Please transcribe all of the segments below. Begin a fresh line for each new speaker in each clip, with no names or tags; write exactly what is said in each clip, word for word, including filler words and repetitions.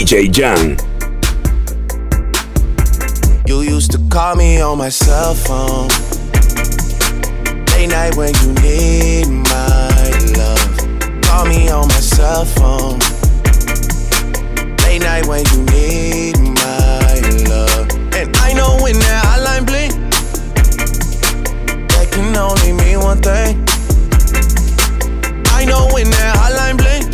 J Jan.
You used to call me on my cell phone, late night when you need my love. Call me on my cell phone, late night when you need my love. And I know when that hotline blink, that can only mean one thing. I know when that hotline blink,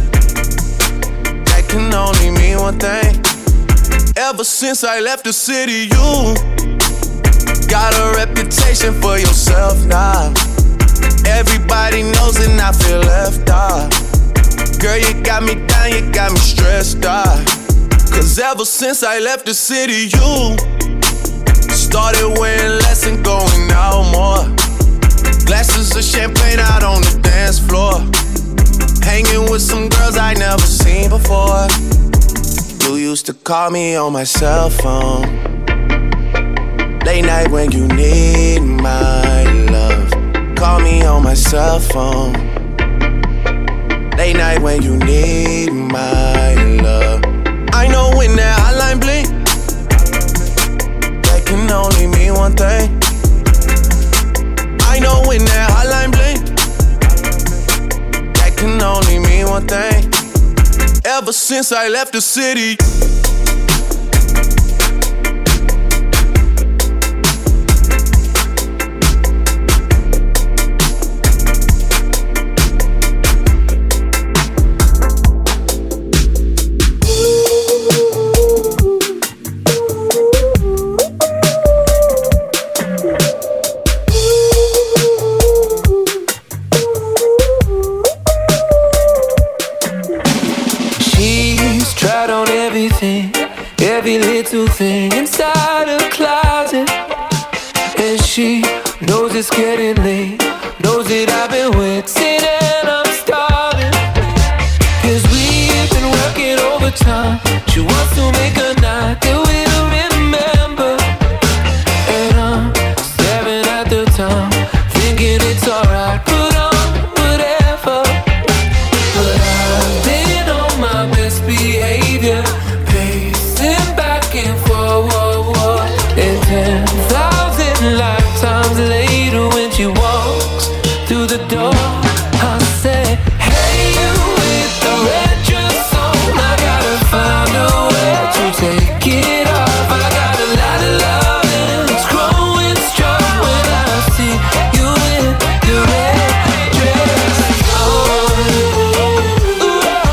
that can only mean one thing. Ever since I left the city, you got a reputation for yourself now. Everybody knows and I feel left out. Girl, you got me down, you got me stressed out. Cause ever since I left the city, you started wearing less and going out more. Glasses of champagne out on the dance floor, hanging with some girls I never seen before. You used to call me on my cell phone, late night when you need my love. Call me on my cell phone, late night when you need my love. I know when that hotline blink, that can only mean one thing. I know when that hotline blink, that can only mean one thing. Ever since I left the city,
every little thing inside her closet, and she knows it's getting late, knows that I've been waiting and I'm starving. Cause we've been working overtime, she wants to make a night that we'll remember. And I'm staring at the time, thinking it's alright, put on whatever. But I've been on my best behavior, back and forward, and ten thousand lifetimes later when she walks through the door, I say, hey, you with the red dress on, I gotta find a way to take it off. I got a lot of love and it's growing strong when I see you in the red dress on. Ooh,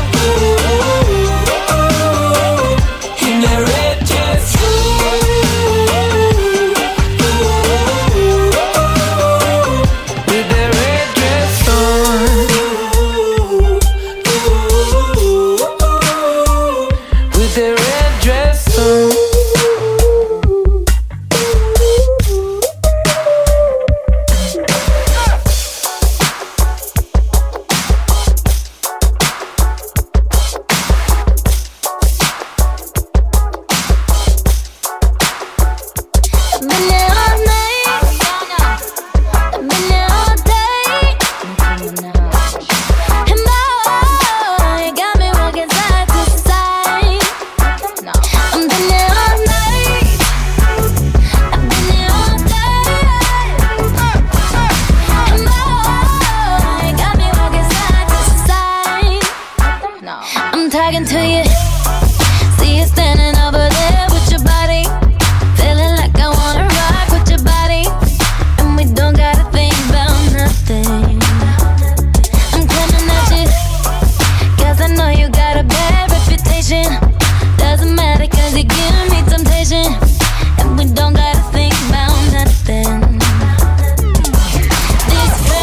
ooh, ooh, in that red dress. With that red dress on. With that red dress on.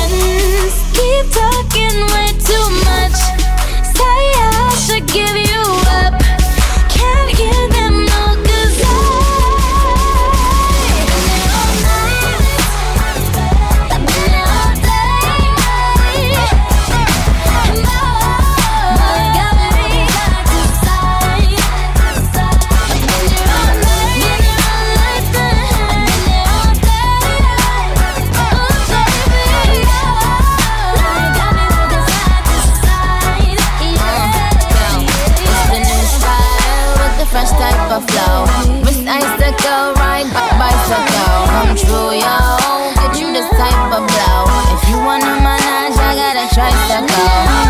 Give you
true, yo. Get you this type of blow. If you wanna manage, I gotta try to go.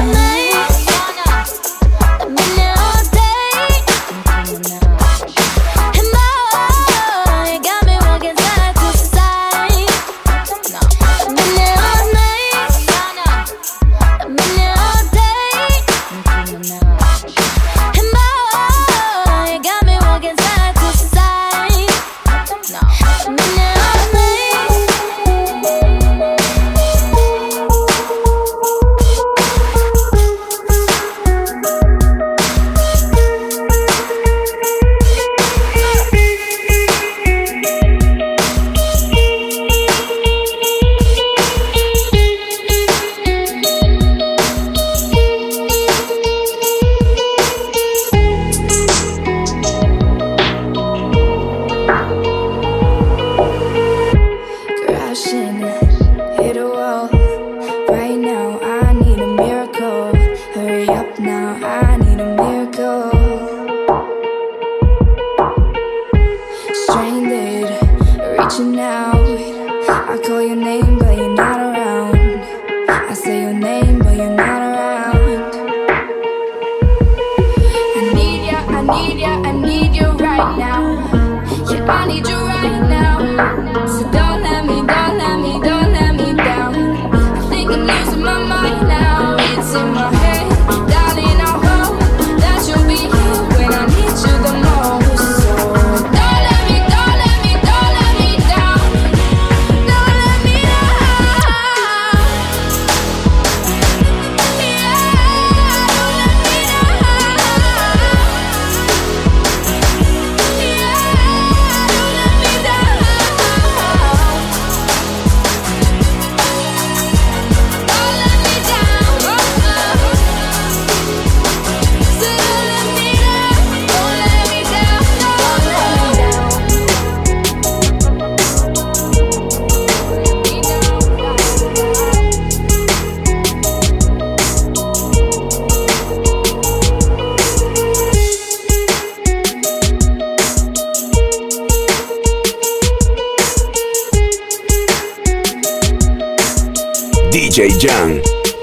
D J Jan.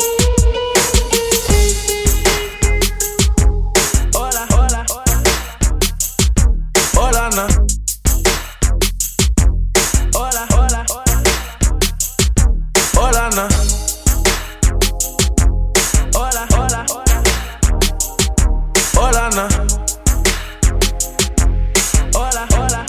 Hola, hola, hola, na. Hola, hola, hola, na. Hola, hola, hola, na. Hola, hola.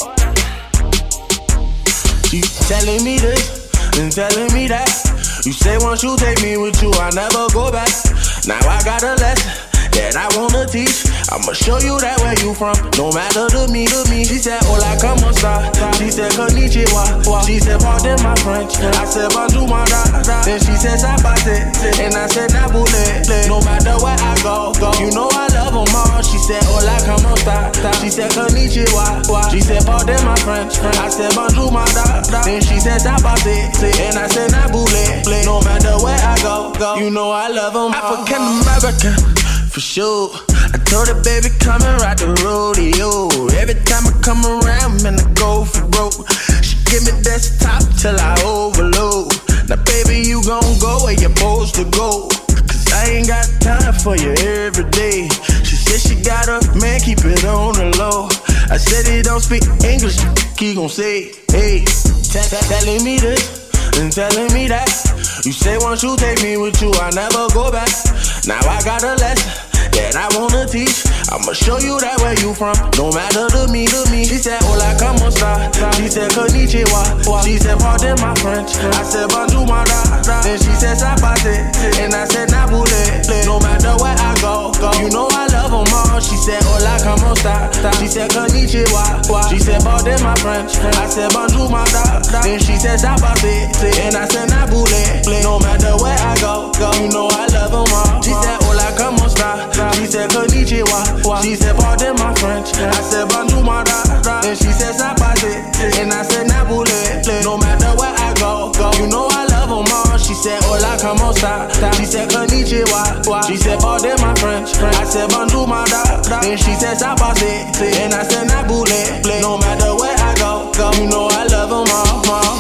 You telling me this and telling me that. You say once you take me with you, I never go back. Now I got a lesson that I wanna teach. I'ma show you that where you from, no matter to me, to me. She said, hola, como esta? She said, konnichiwa. She said, pardon my French. I said, bonjour, my da. Then she said, sabate. And I said, nabule. No matter where I go, go. You know I love them all. She said, hola, como esta? She said, konnichiwa. She said, pardon my French. I said, bonjour, my da. Then she said, sabate. And I said, nabule. No matter where I go, go. You know I love them all. African American, for sure. I told her, baby, come and ride the rodeo. Every time I come around, man, I go for broke. She give me desktop till I overload. Now, baby, you gon' go where you're supposed to go. Cause I ain't got time for you every day. She said she got a man, keep it on the low. I said he don't speak English, he gon' say, hey. Telling me this and telling me that. You say once you take me with you, I never go back. Now I got a lesson that I wanna teach. I'ma show you that where you from, no matter to me, to me. She said, hola, como esta? She said, konnichiwa. She said, pardon my French. I said, bonjour, my da. Then she said, sabate. And I said, nabule. No matter where I go, go. You know I love them all. She said, hola, como esta? She said, konnichiwa. She said, pardon my French. I said, bonjour, my da. Then she said, sabate. And I said, nabule. No matter where I go, go. You know I love them all. She said, hola, como esta? She said, konnichiwa. She said, pardon my French. I said, bonjour, my da. Then she said, sabate. And I said, nabule. No matter where I go, go. You know I love them all. She said, hola, como esta? She said, konnichiwa. She said, pardon my French. I said, bonjour, my da. Then she said, sabate. And I said, nabule. No matter where I go, go. You know I love them all.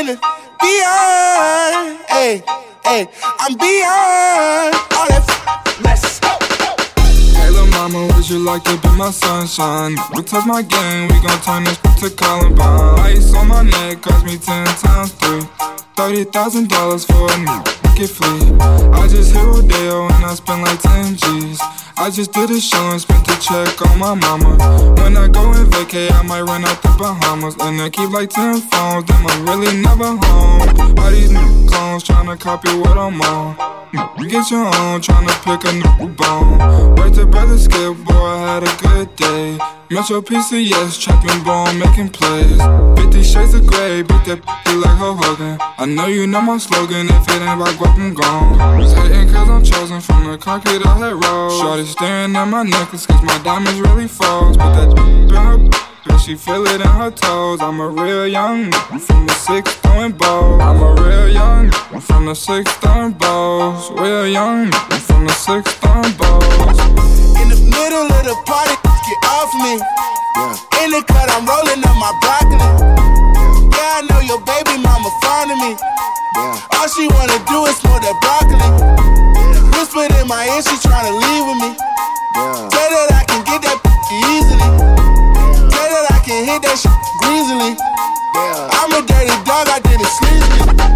in and beyond. Hey, hey, I'm beyond all that. F- Let's go.
Hey, lil' mama, would you like to be my sunshine? We touch my game, we gon' turn this to Columbine. Ice on my neck cost me ten times three. Thirty thousand dollars for a new get free. I just hit Rodeo and I spent like ten G's. I just did a show and spent the check on my mama. When I go and vacay, I might run out the Bahamas. And I keep like ten phones, them I'm really never home. All these new clones tryna copy what I'm on. Get your own, tryna pick a new bone. Right to brother Skip, boy, I had a good day. Metro P C S, trapping bone, making plays. Fifty shades of grey, beat that p***y like Hulk Hogan. I know you know my slogan, if it ain't about guap, I'm gone. Was hating cause I'm chosen from the concrete I hit road. Shorty staring at my necklace cause my diamonds really falls. Put that in her but she feel it in her toes. I'm a real young nigga from the six throwing balls. I'm a real young nigga from the six throwing balls. Real young nigga from the six throwing balls.
In the middle of the party, get off me. Yeah. In the cut, I'm rolling up my broccoli. Yeah, yeah, I know your baby mama fond of me. Yeah. All she wanna do is smoke that broccoli. Yeah. Whispered in my ear, she tryna leave with me. Yeah. Tell that I can get that easily. Yeah. Tell that I can hit that shit greasily. Yeah. I'm a dirty dog, I did it sleazy.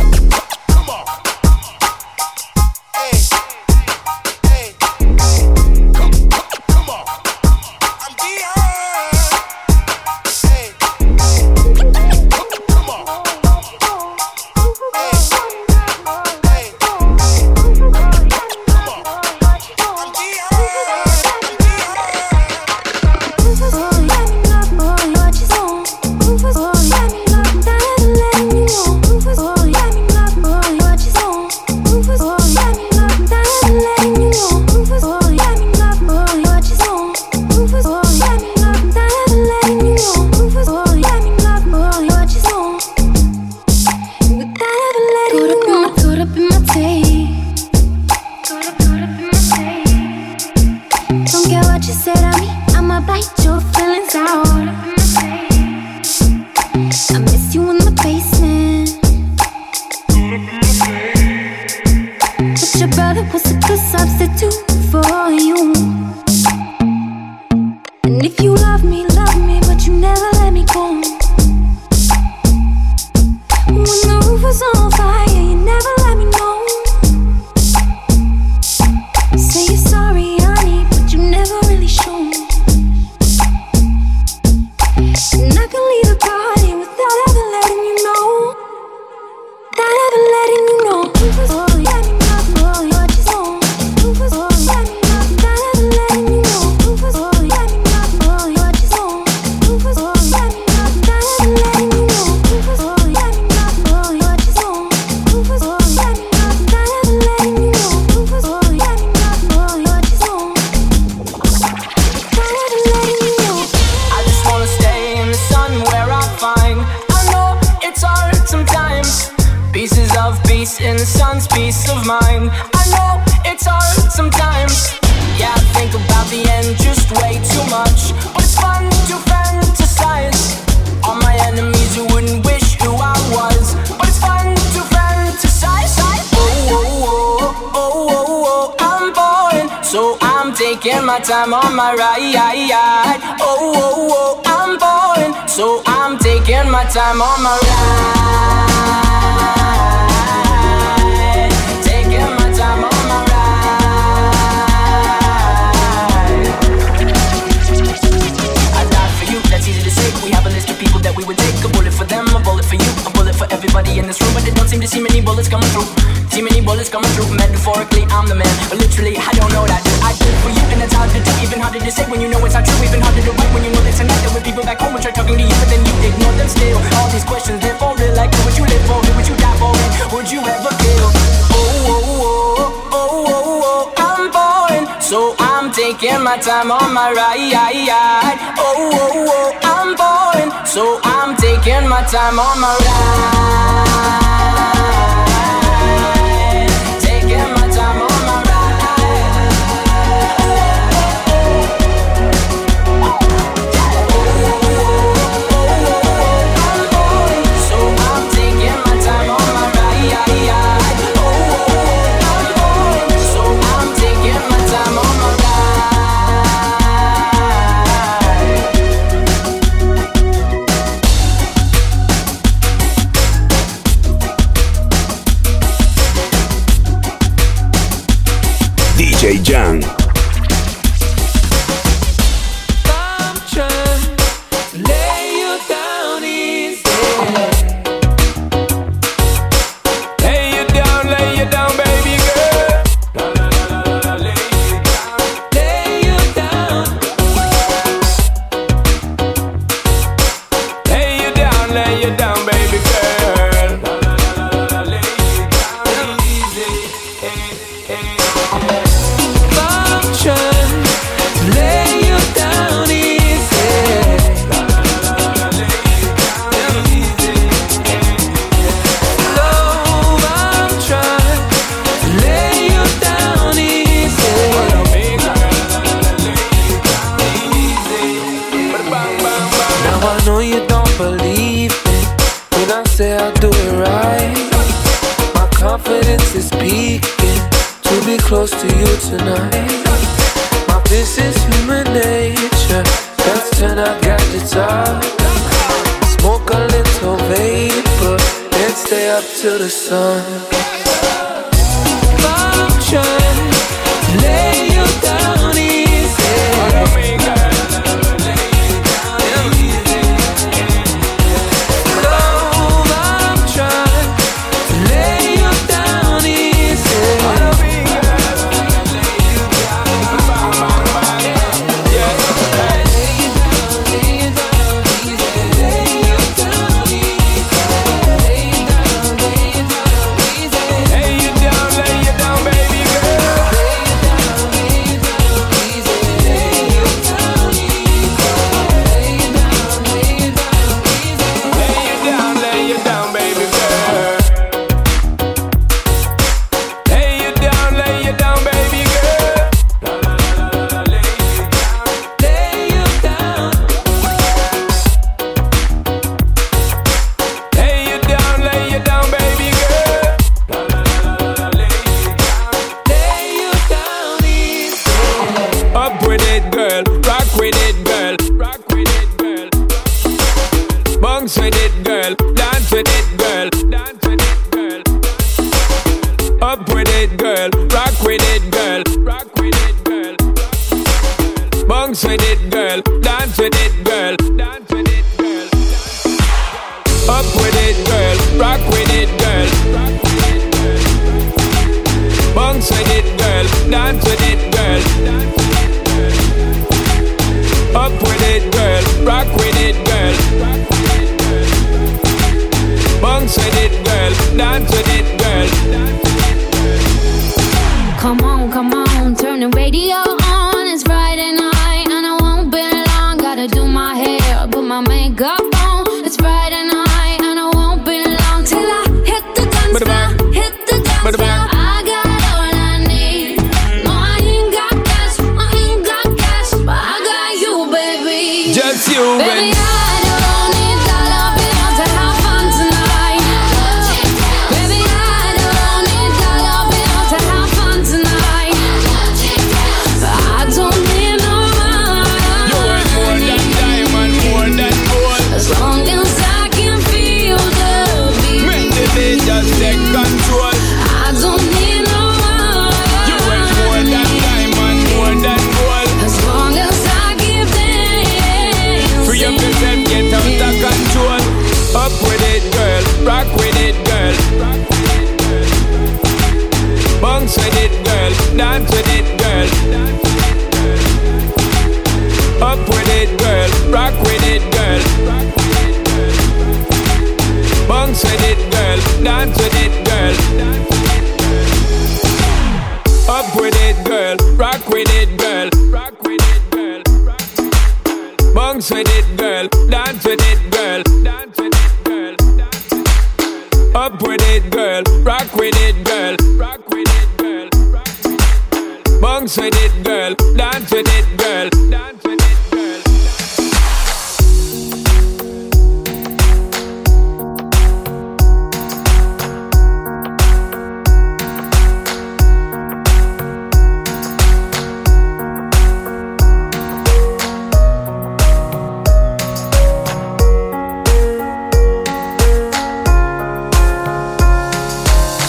Time on my ride, oh, oh, oh, I'm boring, so I'm taking my time on my ride, taking my time on my ride. I died for you, that's easy to say. We have a list of people that we would take. A bullet for them, a bullet for you, a bullet for everybody in this room. But they don't seem to see many bullets coming through. See many bullets coming through. Metaphorically, I'm the man, but literally, I don't know what I do. I do for you, and it's hard to do. Even harder to say when you know it's not true. Even harder to write when you know that tonight there were people back home who try talking to you, but then you ignore them still. All these questions, they're for real. Like, who would you live for? Who would you die for? And would you ever kill? Oh, oh, oh, oh, oh, oh, I'm boring, so I'm taking my time on my ride. Oh, oh, oh, I'm boring, so I'm taking my time on my ride. Taking close to you tonight. My this is human nature. Let's turn our gadgets off. Smoke a little vapor and stay up till the sun. I'm trying to lay you down easy. Love, I'm trying to lay you down easy.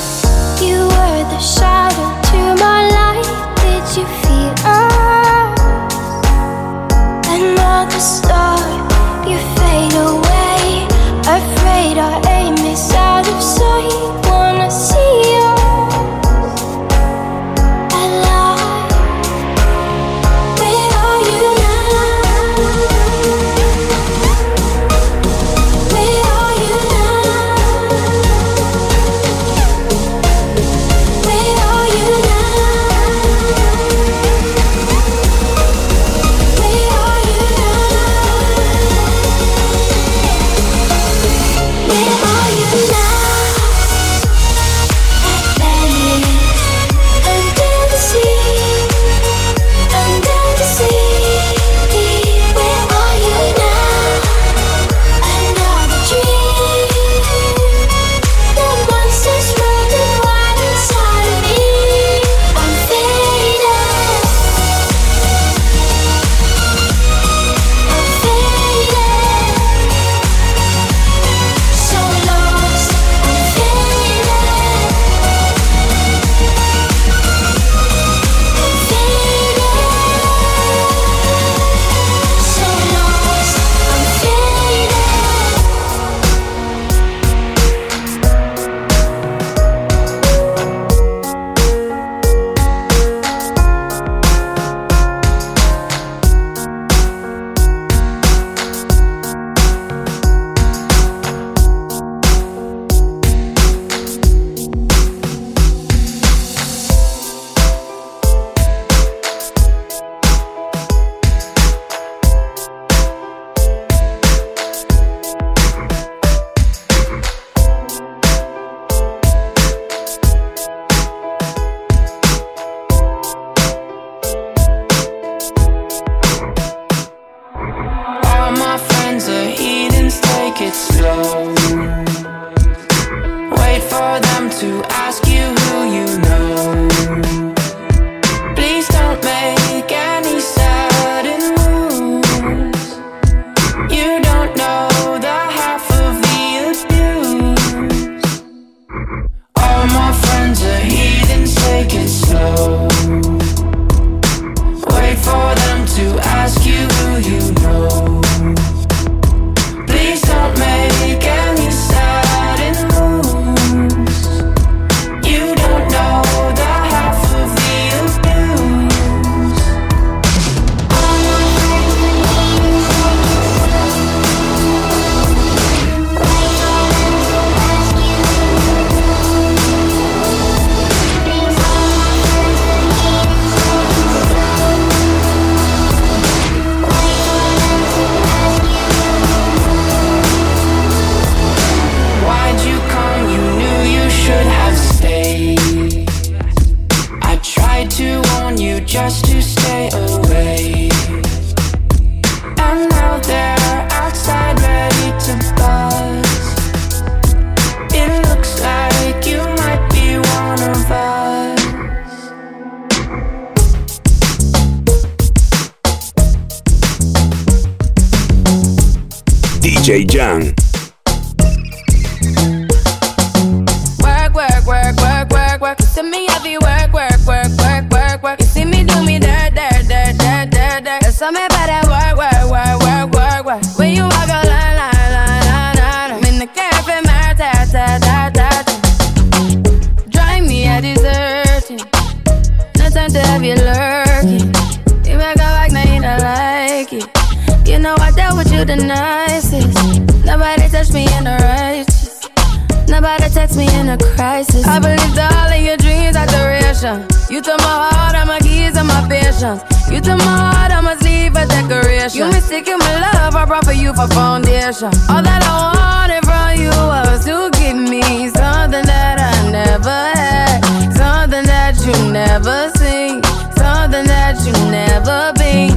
Shadow to my light, did you feel us?
J Jan.
Work, work, work, work, work, work. You see me heavy work, work, work, work, work, work. You see me do me dirt, dirt, dirt, dirt, dirt, dirt. There's something about that work, work, work, work, work, work. When you walk a line, line, line, line, line. I'm in the cafe, my ta, ta, ta, ta, ta. Drive me a deserting. No time to have you lurking. You make a like, now you don't like it. You know I dealt with you the nicest. Nobody touched me in the righteous. Nobody text me in a crisis. I believed all of your dreams are duration. You took my heart, all my keys, and my patience. You took my heart, I must leave a decoration. You mistaken my love, I brought for you for foundation. All that I wanted from you was to give me something that I never had, something that you never seen, something that you never been.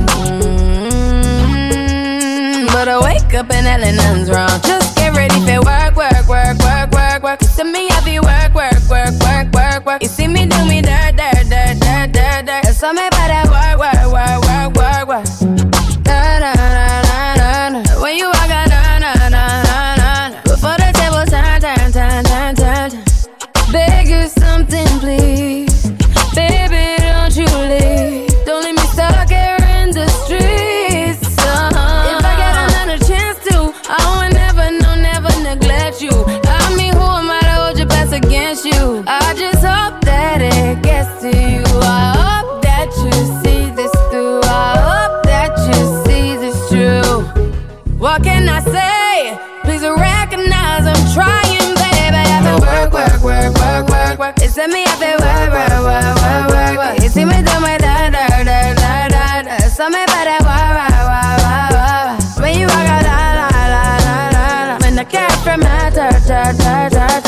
Mm-hmm. But I wake up and hell and nothing's wrong. Just get ready for work, work, work, work, work, work. You see me heavy work, work, work, work, work, work. You see me do me dirt, dirt, dirt, dirt, dirt, dirt. There's something about that work, work, work, work, work, work. Da, da, da, da, da, da. When you walk out, da, da, da, da, da, da. Before the table turn, turn, turn, turn, turn, turn. Beg you something, please. Baby, don't you leave. Don't leave me stuck here in the streets. Uh-huh. If I get another chance to, I would never, no, never neglect you. I mean, who am I to hold your best against you? I just hope that it gets to you. I hope that you see this through. I hope that you see this true. What can I say? Please recognize I'm trying, baby. I've been work, work, work, work, work, work. They send me up and work, work, work, work, work, work. You see me do my da, da, da, da, da, da. Something about that work, work, work, work, work. When you walk out, la, la, la, la, la, la. When the cat from my da, da, da, da, da.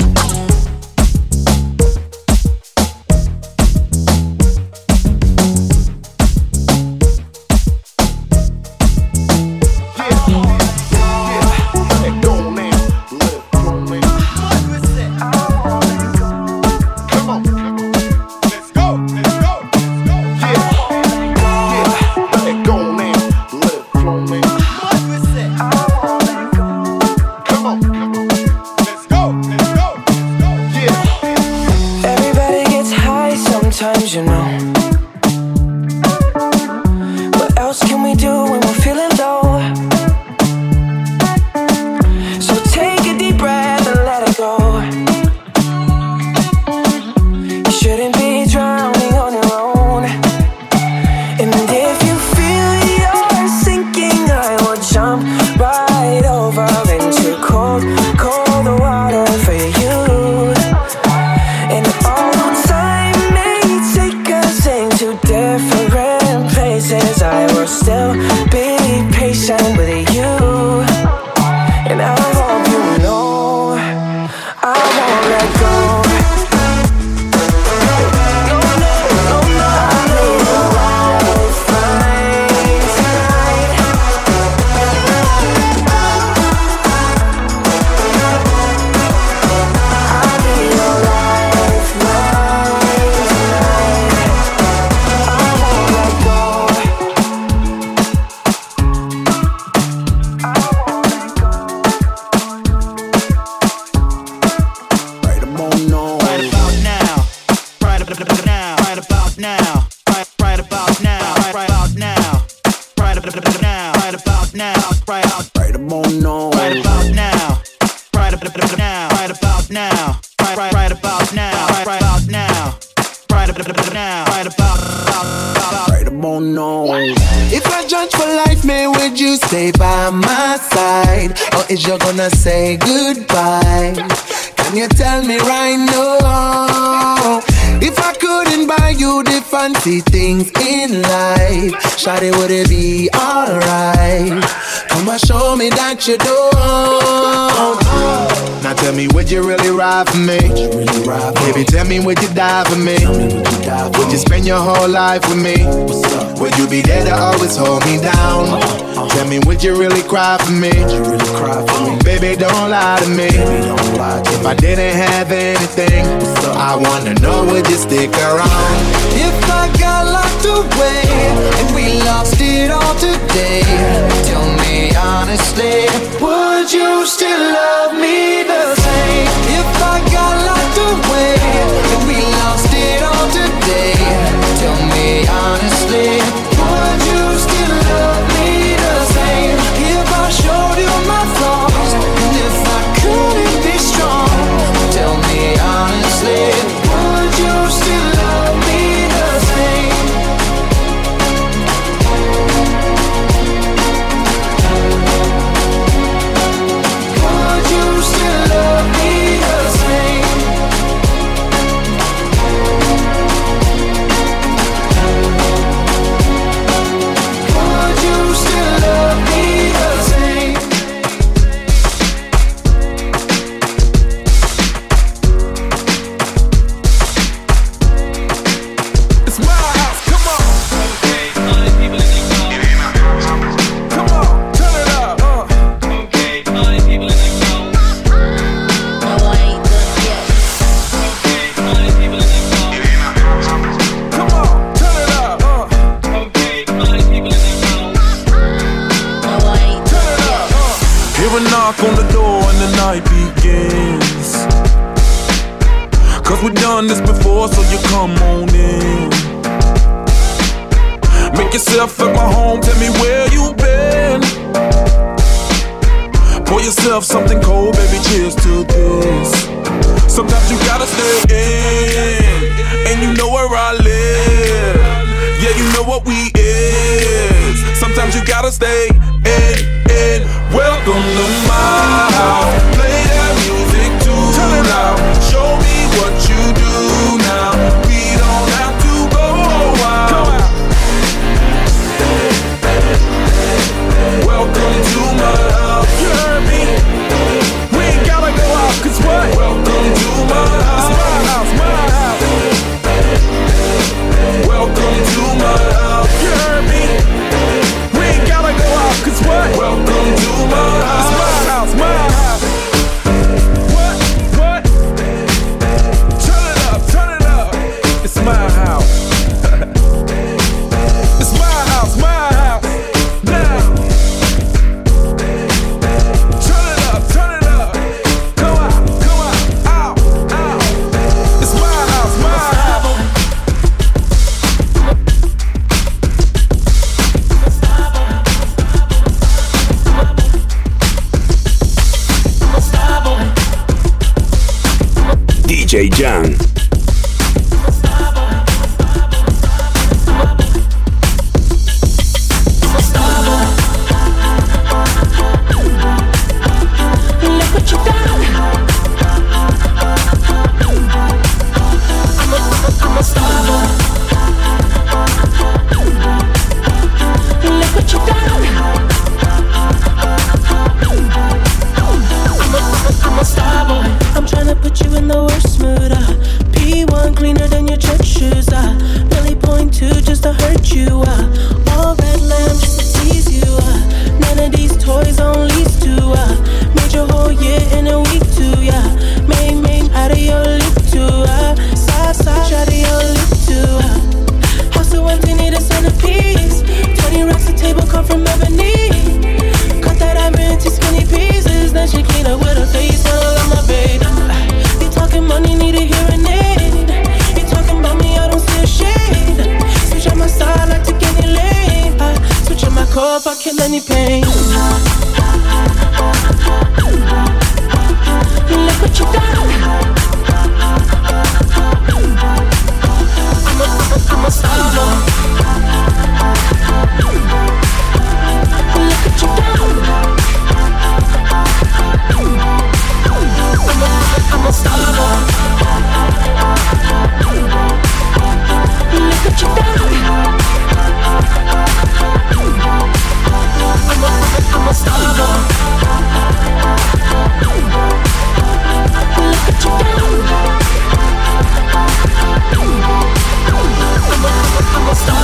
You know, what else can we do when we're feeling low? So take a deep breath and let it go. You shouldn't be drowning on your own. And if you feel you're sinking, I will jump right over into cold, cold water for you. And all time to different places, I will still be patient with you. And I hope you know I won't let go. No, no, no, no. I need a lifeline tonight. I need a lifeline tonight.
If I judge for life, man, would you stay by my side? Or is you gonna say goodbye? Can you tell me right now? If I couldn't buy you the fancy things in life, shawty, would it be alright? Come and show me that you don't. Now tell me, would you really ride for me? Really ride for Baby, tell me, would you die for me? me would, you die for would you spend your whole life with me? Would you be there to always hold me down? Uh-huh. Tell me, would you really cry for me? Would you really cry for me? Baby, don't lie to me. Baby, don't lie to if me. I didn't have anything, I wanna know, would you stick around? If I got locked away and we lost it all today, tell me honestly,
you still love me the same? If I got locked away and we lost it all today, tell me honestly, would you still love me the same? If I showed you my flaws and if I couldn't be strong, tell me honestly, would you still love me the same? Would you still love me the same? Would you still love me the same?
It's my house, come on. Come on, turn it up. Uh. Come on, turn it up. Uh. Turn it up. Uh. Hear a knock on the door and the night begins. Cause we've done this before, so you come on in. Make yourself at my home, tell me where you been. Pour yourself something cold, baby, cheers to this. Sometimes you gotta stay in, and you know where I live. Yeah, you know what we is. Sometimes you gotta stay in, in. Welcome to my house. Play that music too loud. Show me what you do now. We don't have to go wild. Welcome to my house. You heard me? We ain't gotta go out, cause what? Welcome to my house. It's my house, my house. Welcome to my house. You heard me? We ain't gotta go out, cause what? Welcome to my house. It's my house, my house. What? What? Turn it up, turn it up. It's my house. It's my house, my house. Now. Turn it up, turn it up. Go out, go out, out, out. It's my house, my house.
D J Jan.
Look what you done. I'm a, I'm a star boy. Look what you done. I'm a, I'm a star boy. I'm tryna put you in the worst mood. Uh. P one cleaner than your church shoes. Uh. Really point two just to hurt you. Uh. All red lamb just to tease you. Uh. None of these toys on lease to. Uh. Made your whole year in a week too. Yeah. Main main out of your lip too. Uh. Side side out of your lip too. Uh. House so empty, need a centerpiece. Twenty racks a table come from ebony. Cut that ivory into skinny pieces. Then she clean up with her face. I love my baby. You talking money, need a hearing aid. You talking about me, I don't see a shade. Switch on my side, like to get any lane. I switch on my core if I kill any pain. Look what you done. I'm a, I'm a star boy. Look what you done. I'm a, I'm a star boy. Look what you done. I'm a, I'm a star boy. Look what you done. I'm a, I'm a star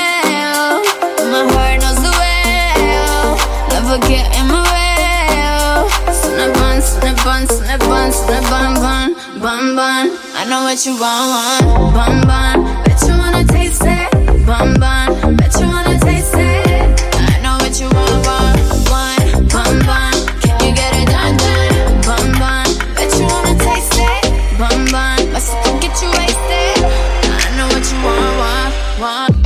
well. My heart knows the well. Never get in my way. Snap on, snap on, snap on, snap on, bun, bun, bun. I know what you want, want, bun, bun. Bet you wanna taste it, bun, bun. Bet you wanna taste it. I know what you want, want, want, bun, bun. Can you get it done, done, bun, bun. Bet you wanna taste it, bun, bun. My sister get you wasted. I know what you want, want, want.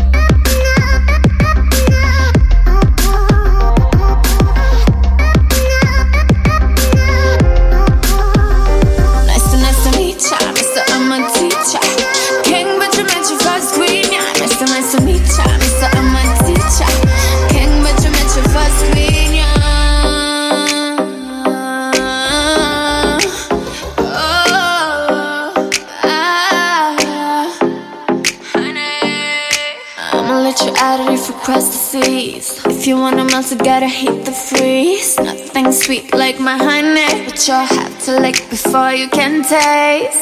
Across the seas. If you wanna melt, you gotta heat the freeze. Nothing sweet like my honey, but you'll have to lick before you can taste.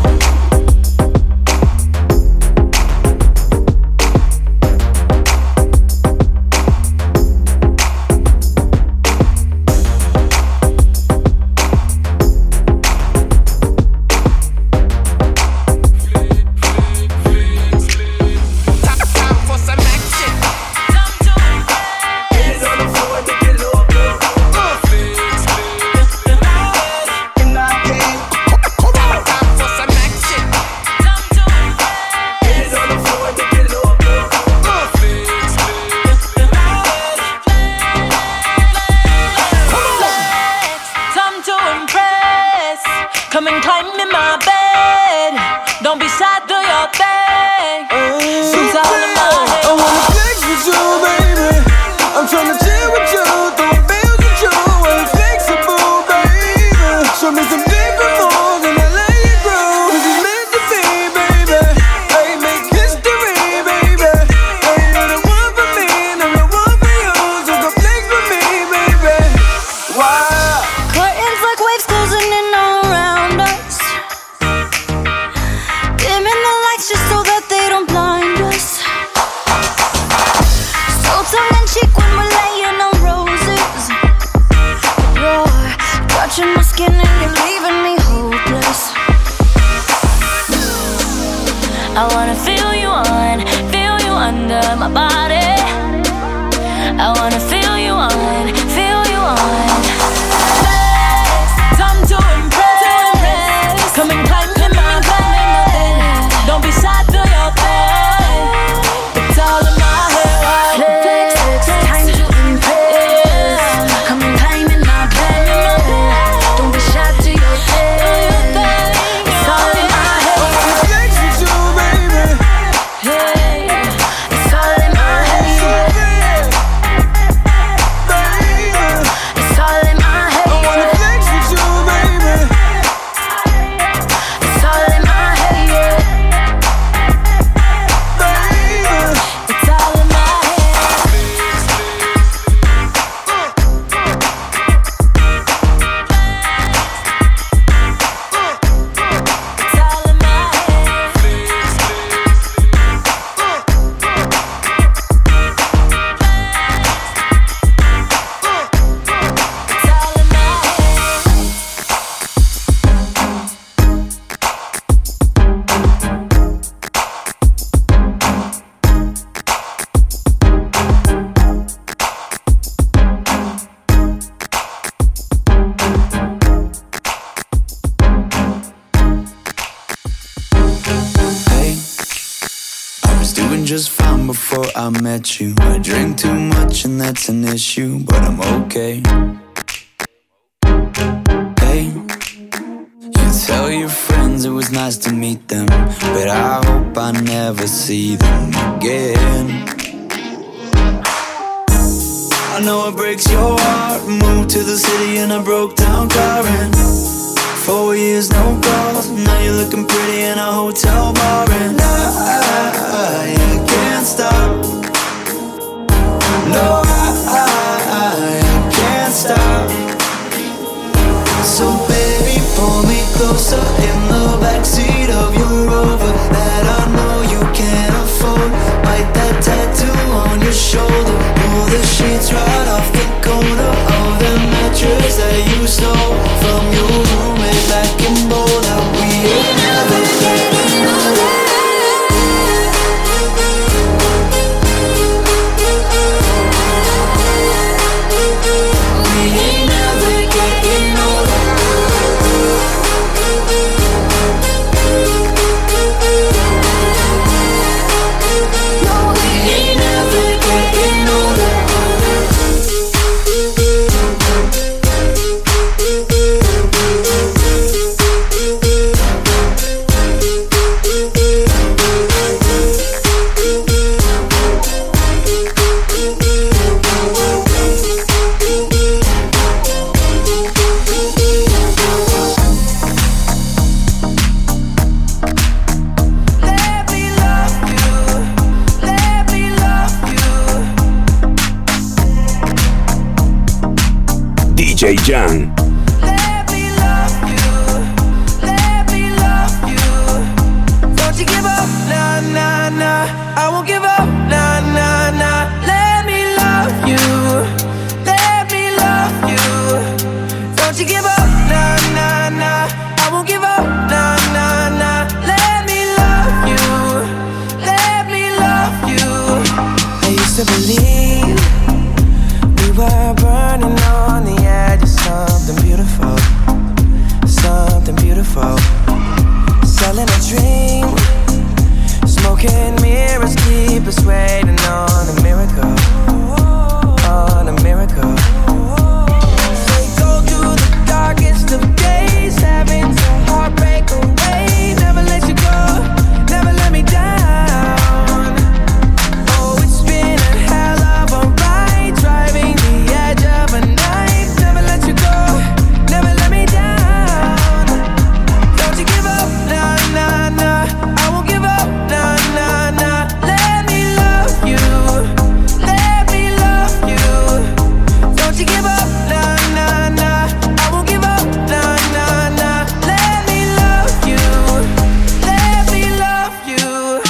Just fine before I met you. I drink too much and that's an issue, but I'm okay. Hey, you tell your friends it was nice to meet them, but I hope I never see them again. I know it breaks your heart. Moved to the city in a broke down car and four years no calls. Now you're looking pretty in a hotel bar and I, I can't stop. No, I, I, I can't stop. So baby, pull me closer in the backseat of your Rover that I know you can't afford. Bite that tattoo
Jan.
Let me love you, let me love you. Don't you give up, nah, nah, nah. I won't give up, nah, nah, nah. Let me love you, let me love you. Don't you give up, nah, nah, nah. I won't give up, nah, nah, nah. Let me love you, let me love you. I used to believe we were burning on the edge of something beautiful, something beautiful. Selling a dream, smoking mirrors keep us waiting on a miracle, on a miracle. They go through the darkest of days, having to heartbreak away. Never let you go, never let me down. Oh, it's been a hell of a ride, driving the edge of a knife. Never let you go, never let me down. Don't you give up, nah, nah, nah. I won't give up, nah, nah, nah. Let me love you, let me love you. Don't you give up, nah, nah, nah. I won't give up, nah, nah, nah. Let me love you, let me love you.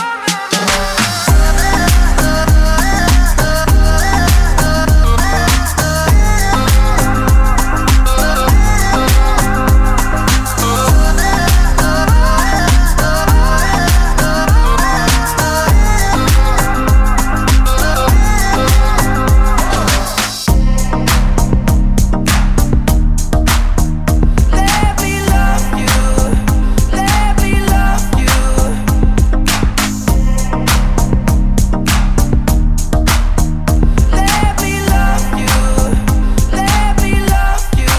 Let me love you, let me love you. Let me love you, let me love you.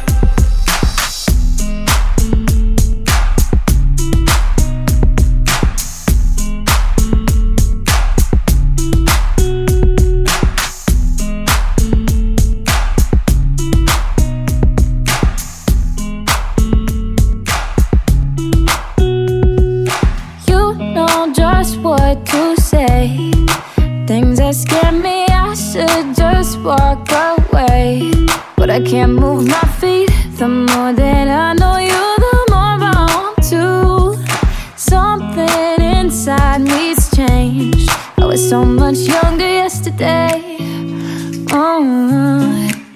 You know just what to say. Things that scare me, I should just walk away. But I can't move my feet. The more that I know you, the more I want to. Something inside me's changed. I was so much younger yesterday. Oh.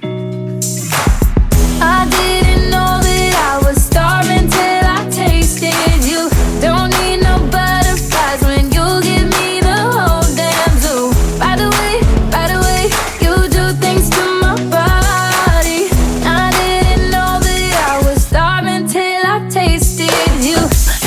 I didn't know that I was starving till I tasted you. Don't need no butterflies when you give me the whole damn zoo. By the way, by the way, you do things to my body. I didn't know that I was starving till I tasted you.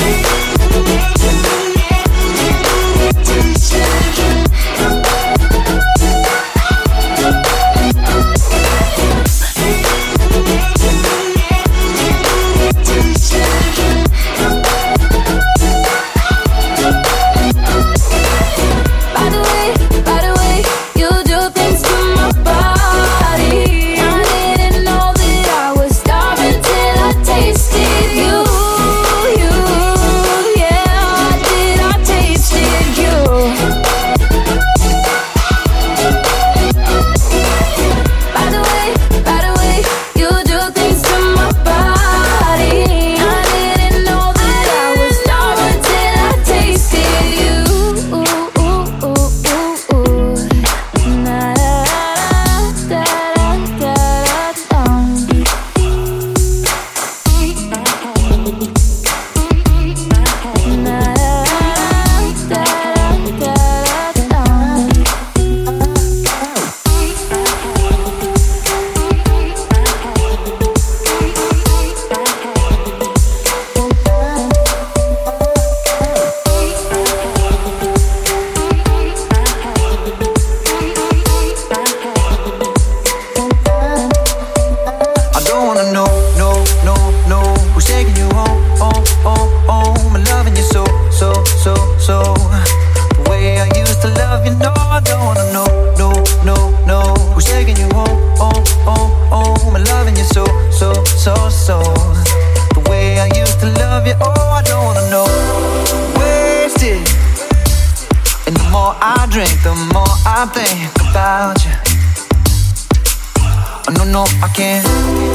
drink, the more I think about you. Oh, no, no, I can't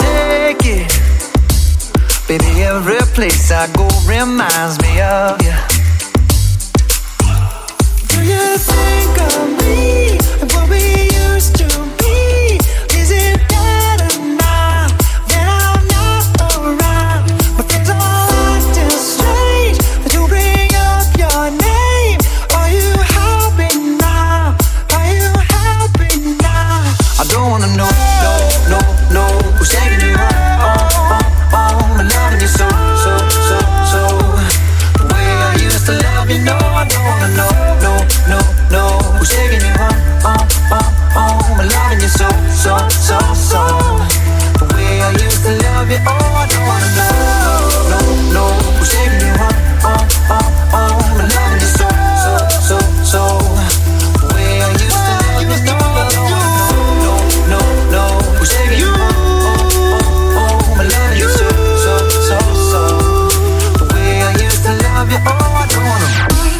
take it. Baby, every place I go reminds me of you. Do you think of me and what we used to be? Is it better now that I'm not around? But things are still strange, but you bring up your name. Are you happy now? Are you happy now? I don't wanna know, no, no, no, who's taking you home, oh, oh, oh, I'm loving you so, so, so, so. The way I used to love you, no, I don't wanna know, no, no, no, who's taking you home, oh, oh, oh, I'm loving you so, so, so, so. The way I used to love you, oh, I don't wanna know, no, no, who's taking you home, oh, oh, oh, I'm loving you so, so, so, so. The way I used to love you, no, I don't wanna know, no, no, no, who's taking you home, oh, oh, oh, I'm loving you so, so, so, so. The way I used to love you, oh, I don't wanna.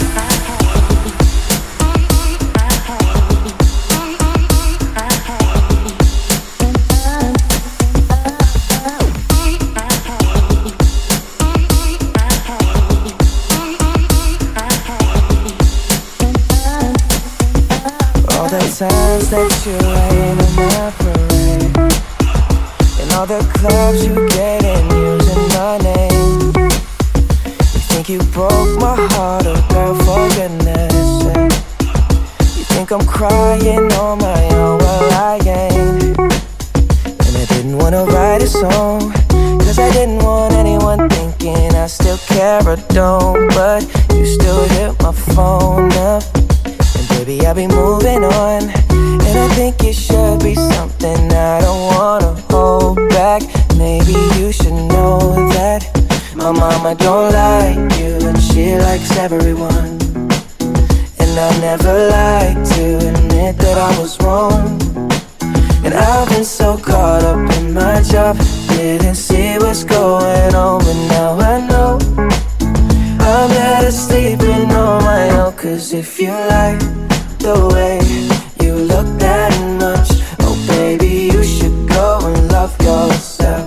All the times that you rain in my parade, and all the clubs you get in using my name. You think you broke my heart, oh girl, for goodness sake. You think I'm crying on my own, well I ain't. And I didn't wanna write a song, cause I didn't want anyone thinking I still care or don't. But you still hit my phone up, and baby I'll be moving on. And I think it should be something I don't wanna hold back. Maybe you should know that my mama don't like you, and she likes everyone. And I never like to admit that I was wrong. And I've been so caught up in my job, didn't see what's going on. But now I know I'm better sleeping on my own. Cause if you like the way you look that much, oh baby, you should go and love yourself.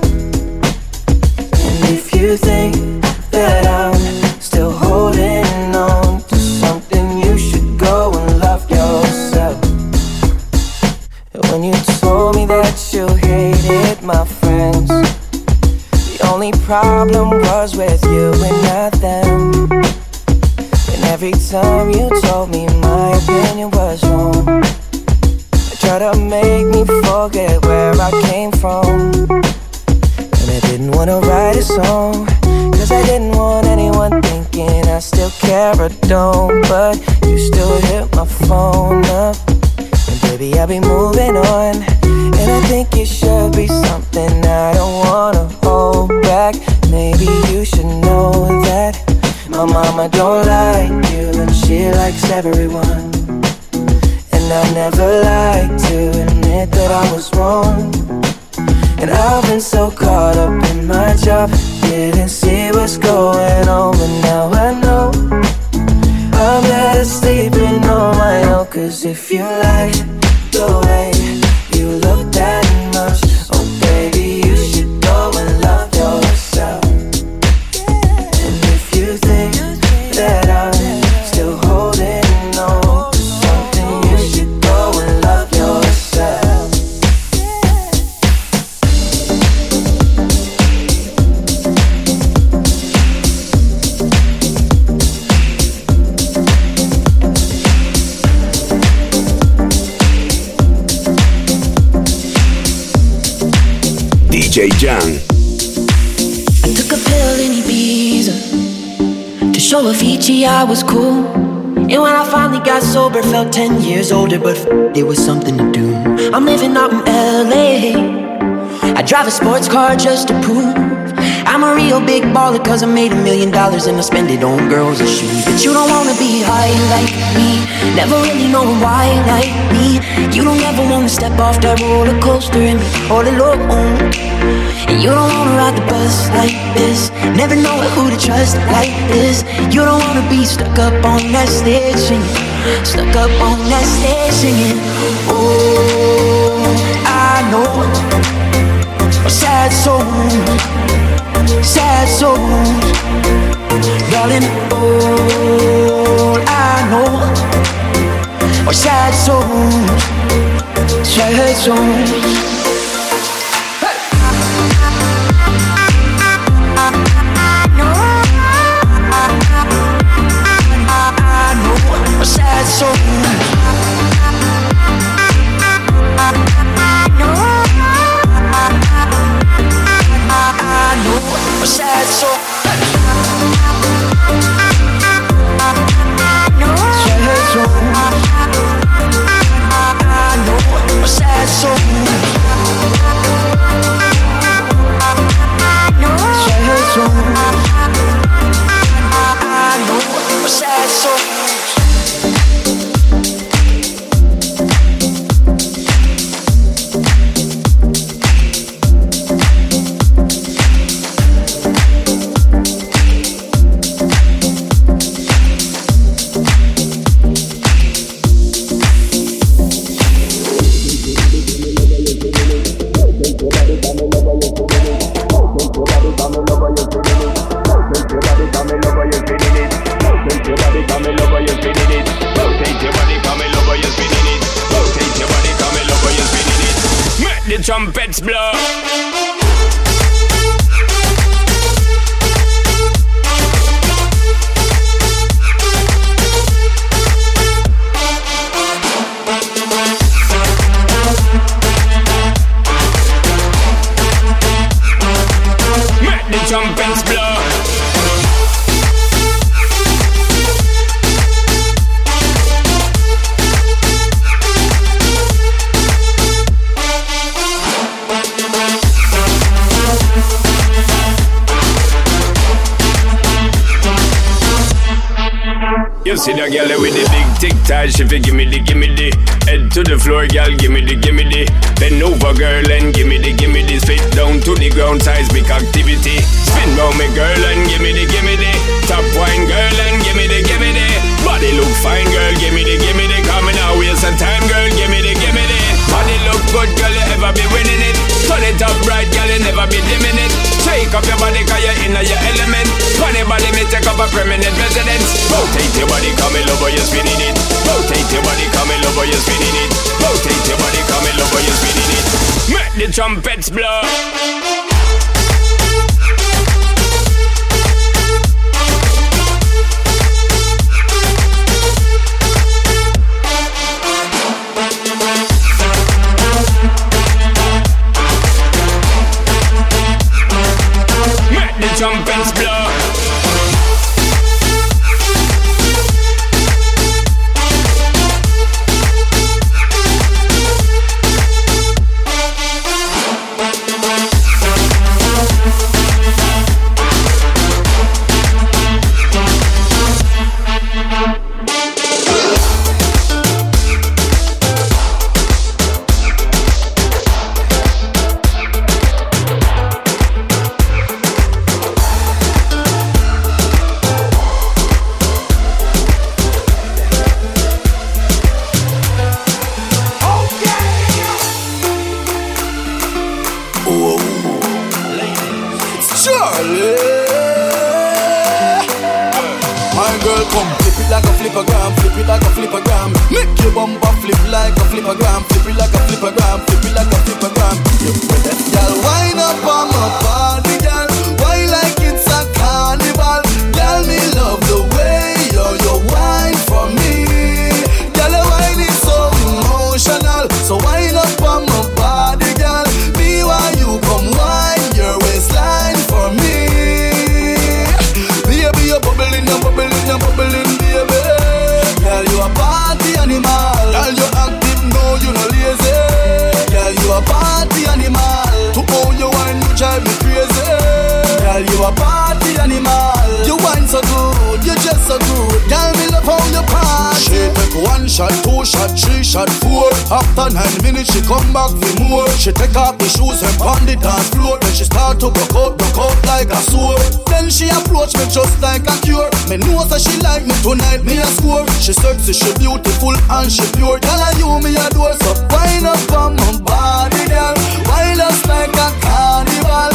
And if you think that I'm still holding on to something, you should go and love yourself. When you told me that you hated my friends, the only problem was with you and not them. And every time you told me my opinion was wrong, you try to make me forget where I came from. And I didn't wanna write a song, cause I didn't want anyone thinking I still care or don't. But you still hit my phone up, and baby I'll be moving on. And I think it should be something I don't wanna hold back. Maybe you should know that my mama don't like you, and she likes everyone. And I never like to admit that I was wrong. And I've been so caught up in my job, didn't see what's going on. But now I know I'm better sleeping on my own. Cause if you like the way you look that much, oh baby, you should go and love yourself. And if you think that I'm still holding on to something, you should go and love yourself.
D J Jan.
I took a pill in Ibiza to show Avicii I was cool. And when I finally got sober, felt ten years older, but f- there was something to do. I'm living out in L A. I drive a sports car just to prove I'm a real big baller, cause I made a million dollars and I spend it on girls and shoes. But you don't wanna be high like me, never really knowing why like me. You don't ever wanna step off that roller coaster and be all alone. And you don't wanna ride the bus like this, never know who to trust like this. You don't wanna be stuck up on that stage singing, stuck up on that stage singing. Oh, I know I'm sad sad souls, sad souls. Darling, all I know are sad souls, sad souls. Sad souls. I know a sad soul. Sad soul. I know a sad soul. Sad soul. I know a sad soul.
Trumpets blow. Make the trumpets blow. You see the girl with the big tic tac, she fi gimme the, gimme the. Head to the floor, girl, gimme the, gimme the. Bend over, girl, and gimme the, gimme the. Spit down to the ground, seismic activity. Spin round me, girl, and gimme the, gimme the. Top wine, girl, and gimme the, gimme the. Body look fine, girl, gimme the, gimme the. Coming out, waste some time, girl, gimme the, gimme the. Body look good, girl, you ever be winning it. Turn it up right, girl, you never be dimming it. Shake up your body, cause you're in your element. Funny body, me take up a permanent residence. Rotate your body, come in over, you're spinning it. Rotate your body, come in over, you're spinning it. Rotate your body, come in over, you're spinning it. Make the trumpets blow. Make the trumpets blow.
After nine minutes she come back for more. She take off the shoes and pound the dance floor. Then she start to broke out, broke out like a sword. Then she approach me just like a cure. Me know that she like me tonight, me a score. She sexy, she beautiful and she pure. Girl, I you me a door, so wind up on my body, girl. Wind us like a carnival.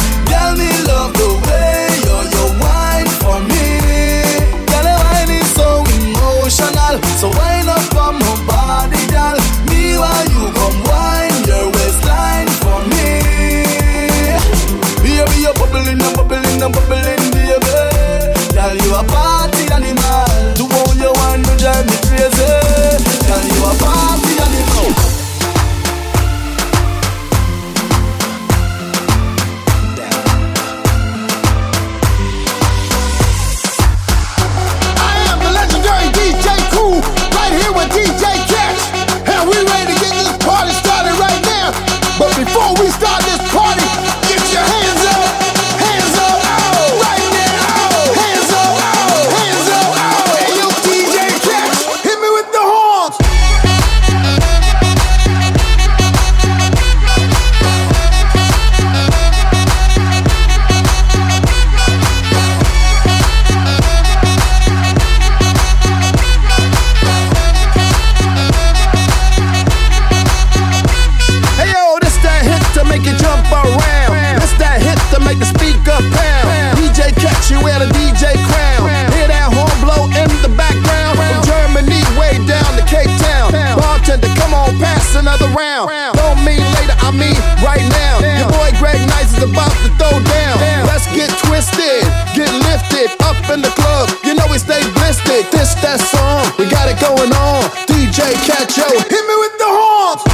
another round. Don't mean later, I mean right now. Your boy Greg Nice is about to throw down. Let's get twisted, get lifted, up in the club. You know we stay blistered. This, that song, we got it going on. D J Catcho, hit me with the horns.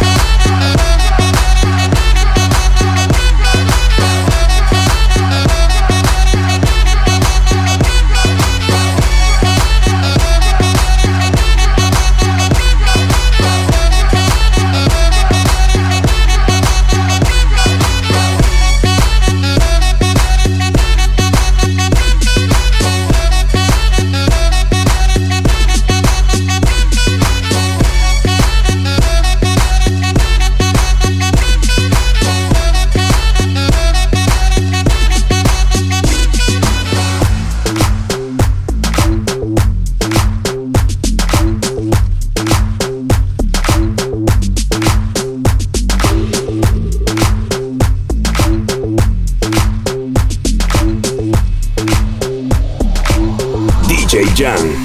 D J Jan.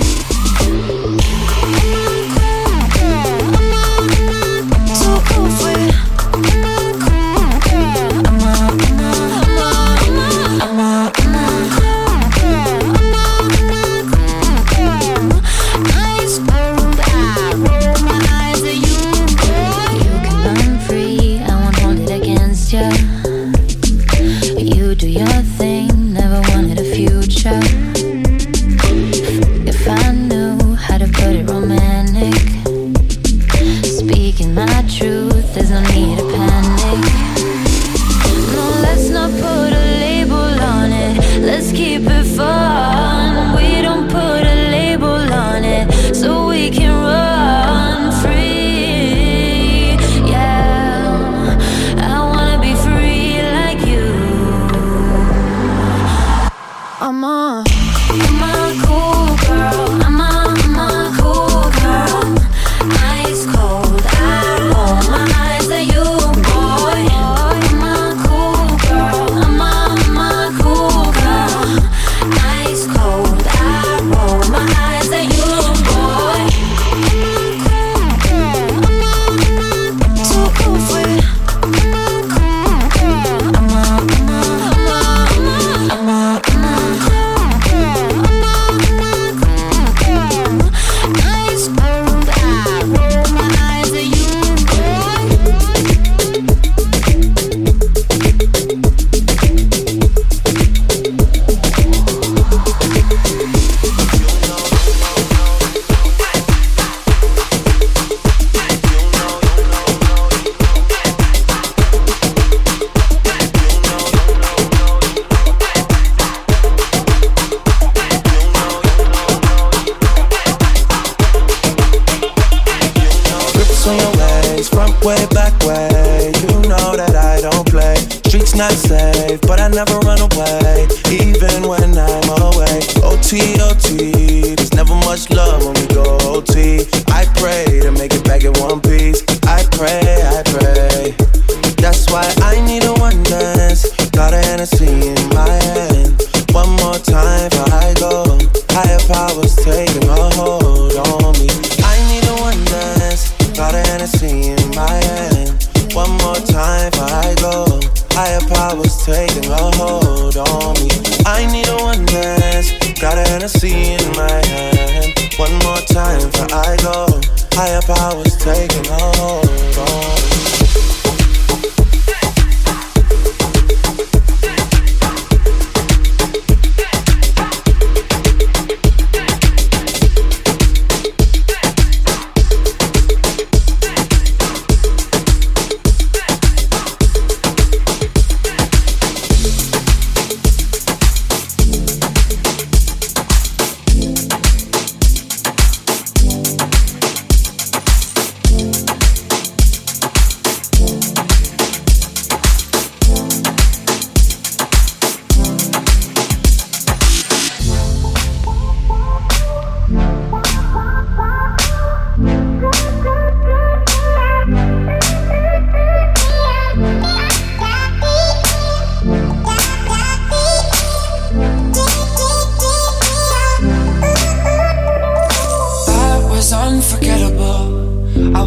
Not safe, but I never run away, even when I'm away. O T, O T, there's never much love when we go O T. I pray to make it back in one piece. I pray, I pray. That's why I need a one dance. Got a Hennessy in my hand. One more time before I go. Higher powers taking a hold on me. I need a one dance. Got a Hennessy in my hand. One more time before I go. Higher powers taking a hold on me. I need a one dance. Got a Hennessy in my hand. One more time before I go. Higher powers taking a hold on me.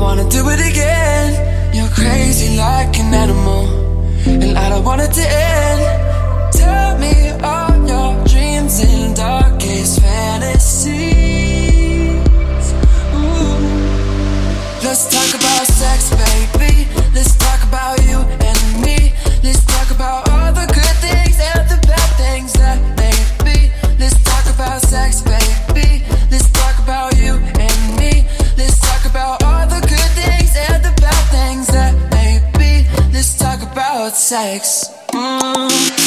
wanna do it again. You're crazy like an animal, and I don't want it to end. Tell me all your dreams and darkest fantasies. Ooh. Let's talk about sex, baby. Let's talk about you and me. Let's talk about all the good things and the bad things that may be. Let's talk about sex, baby. Let's talk about you and me. Let's talk about all the good things and the bad things that may be. Let's talk about sex. Mm.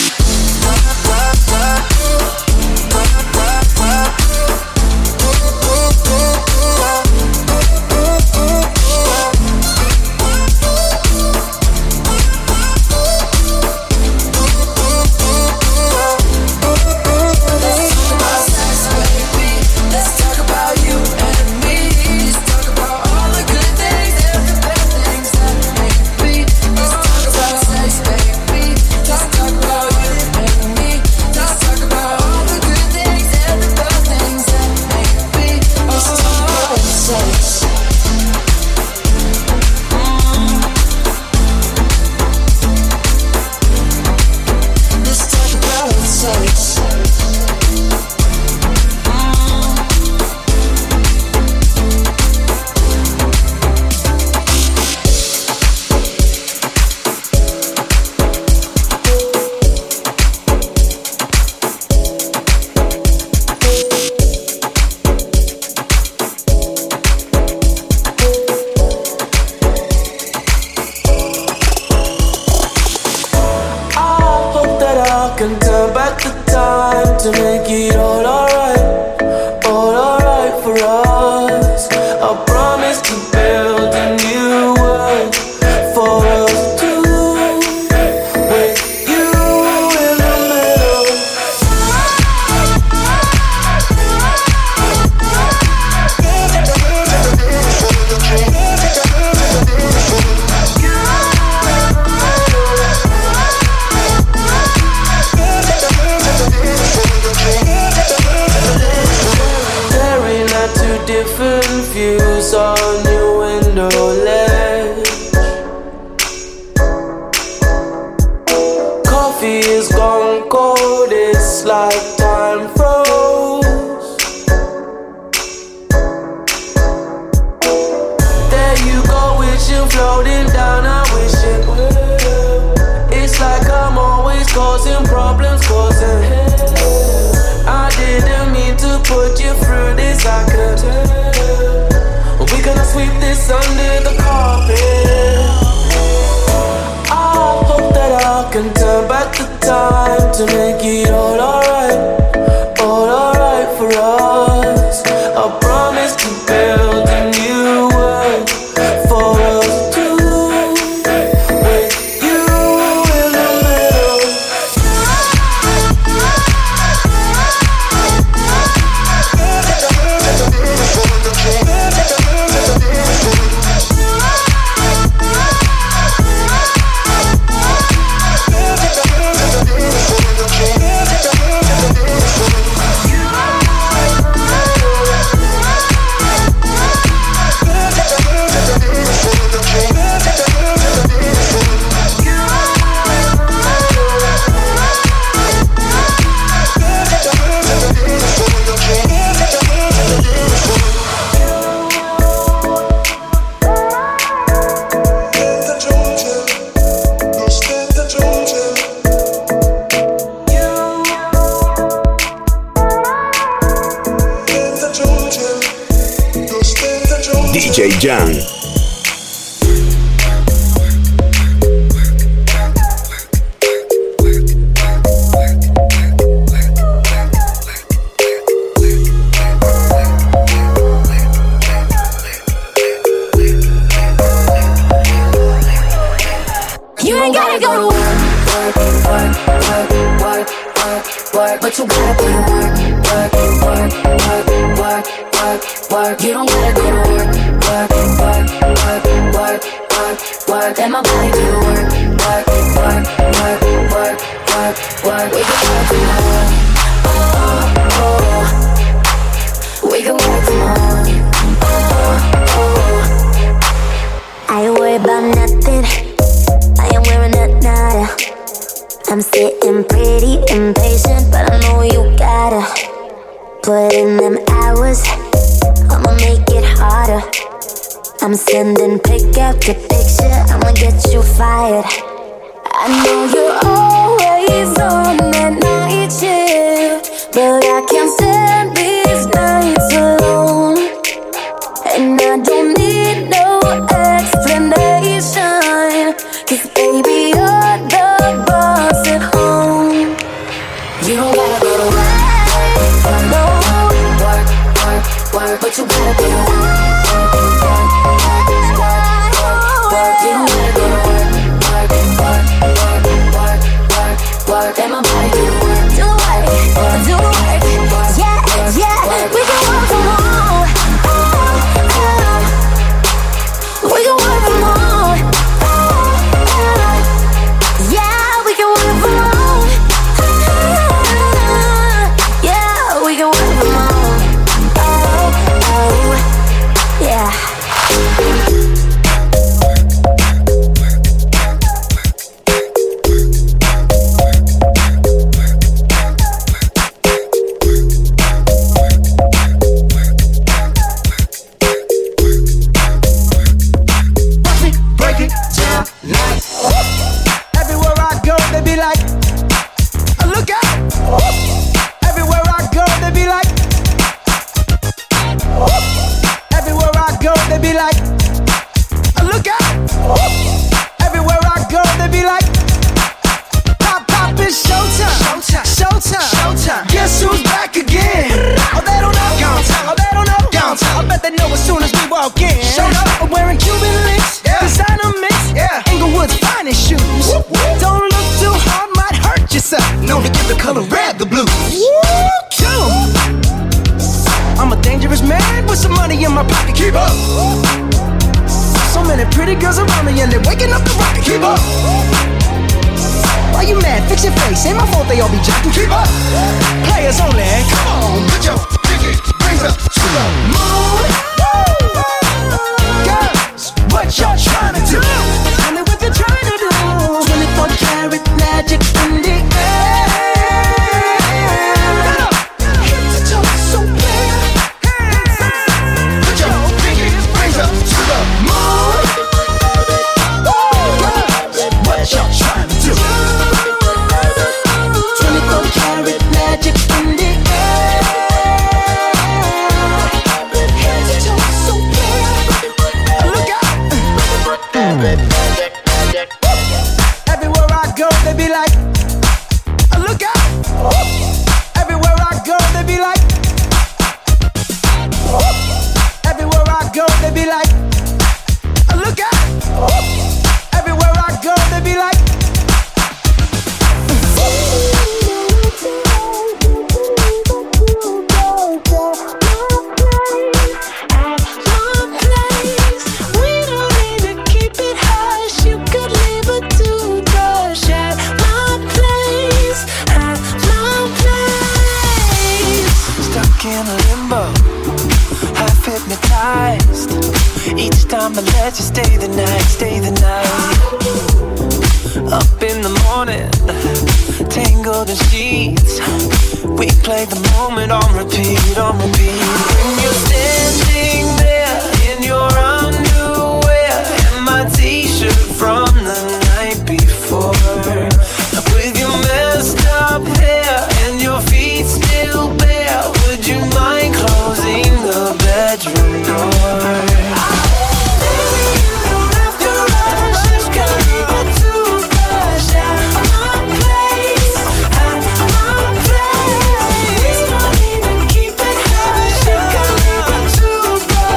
D J Jan.
You ain't gotta go to work, work, work, work, work, work, work, but you gotta put in work, work, work, work, work, work, work. You don't gotta go to work, work, work, work, work, work, work. Let my body do the work, work, work, work, work, work, work. We can work from home, oh, oh. We can work from home, oh, oh.
put in them hours, I'ma make it harder. I'm sending pick after picture, I'ma get you fired. I know you're always on that night shift, but I can't stand these nights alone. And I don't need no explanation, 'cause baby you're the boss at home. You don't gotta go to work, no, work, work, work, but you gotta be work, work, work, work, work, work. You don't gotta go to work, work, work, work, work, work, work. Let my body do the work, do work, do work. Yeah, yeah, we can work from home. We can work from home. Yeah, we can work from home. Yeah, we can work from home. Oh, oh, yeah.
Keep it high,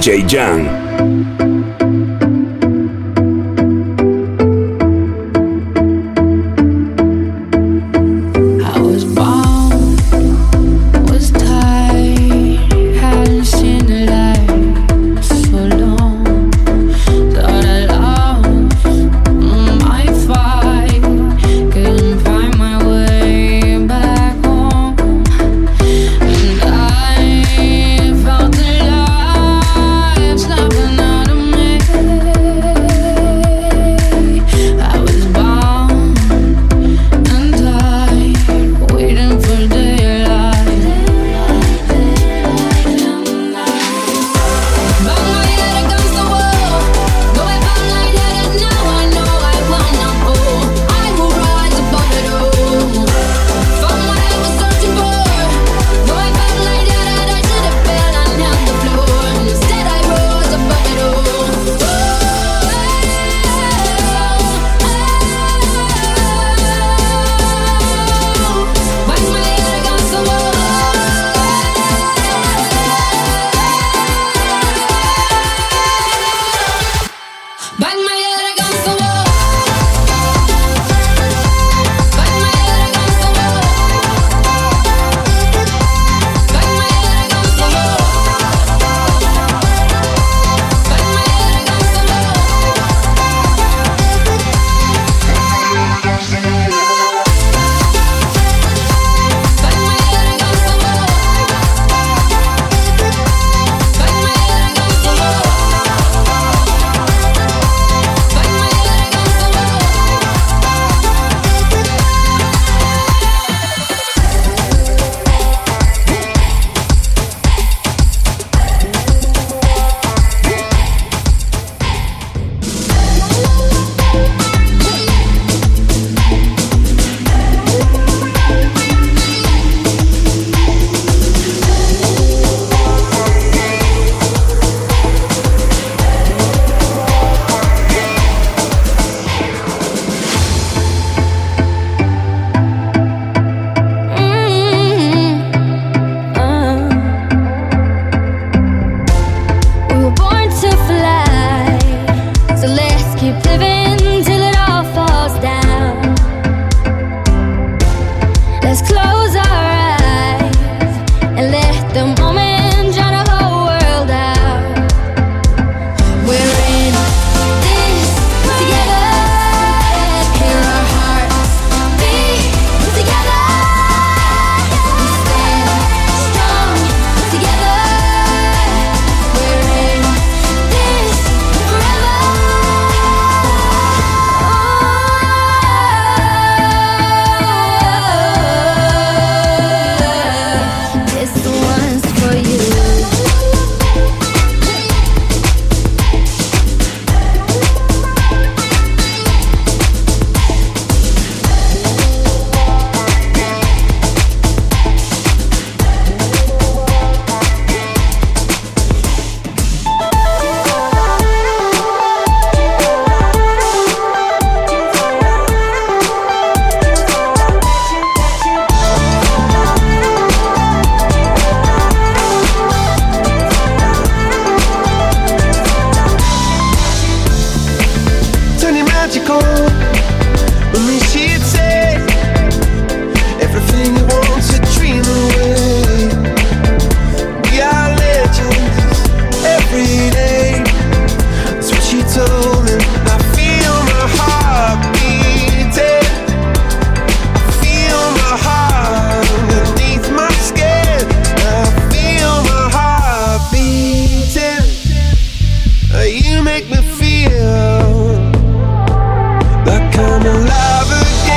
J Jan.
make me feel like I'm alive again.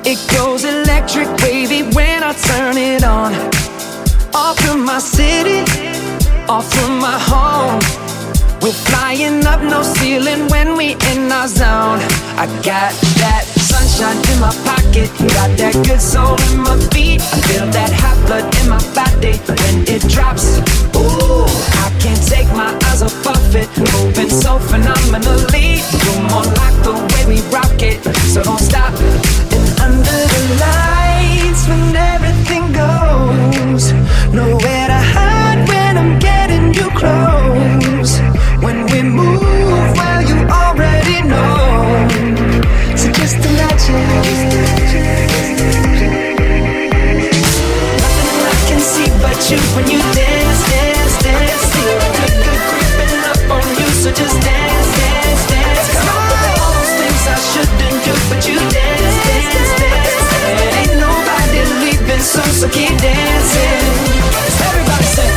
It goes electric wavy when I turn it on. Off from my city, off from my home. We're flying up, no ceiling when we in our zone. I got that sunshine in my pocket, got that good soul in my feet. I feel that hot blood in my body when it drops. Ooh, I can't take my eyes off of it, moving so phenomenally. You're more like the way we rock it, so don't stop. And under the lights when everything goes, nowhere to hide when I'm getting you close. When we move, well, you already know. So just imagine. Nothing I can see but you when you dance, dance, dance. Feel good, good creeping up on you. So just dance, dance, dance. Come on, all those things I shouldn't do, but you dance, dance, dance. And ain't nobody leaving soon, so keep dancing. Everybody say.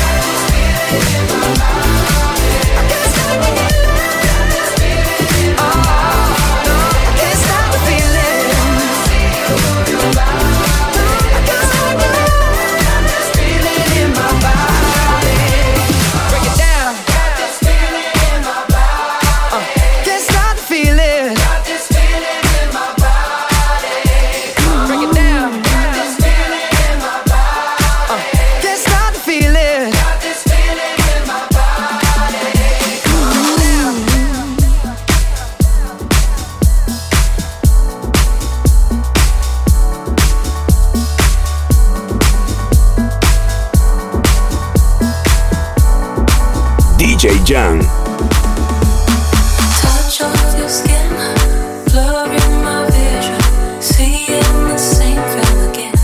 D J Jan.
Touch of your skin, blurring my vision, seeing the same film again.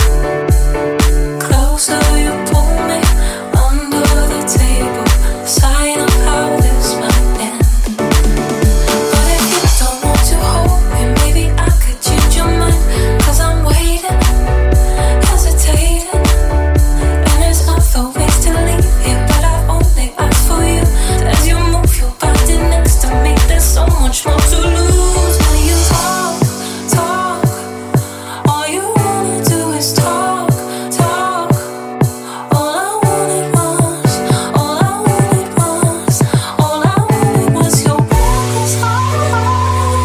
Closer you pull me, under the table, sign of how this might end. But if you don't want to hold me, maybe I could change your mind. Cause I'm waiting, hesitating, and there's other ways to leave here, but I only ask for you. As you move your body next to me, there's so much more to lose. When you talk, talk, all you wanna do is talk, talk. All I wanted was, all I wanted was, all I wanted was your reckless heart.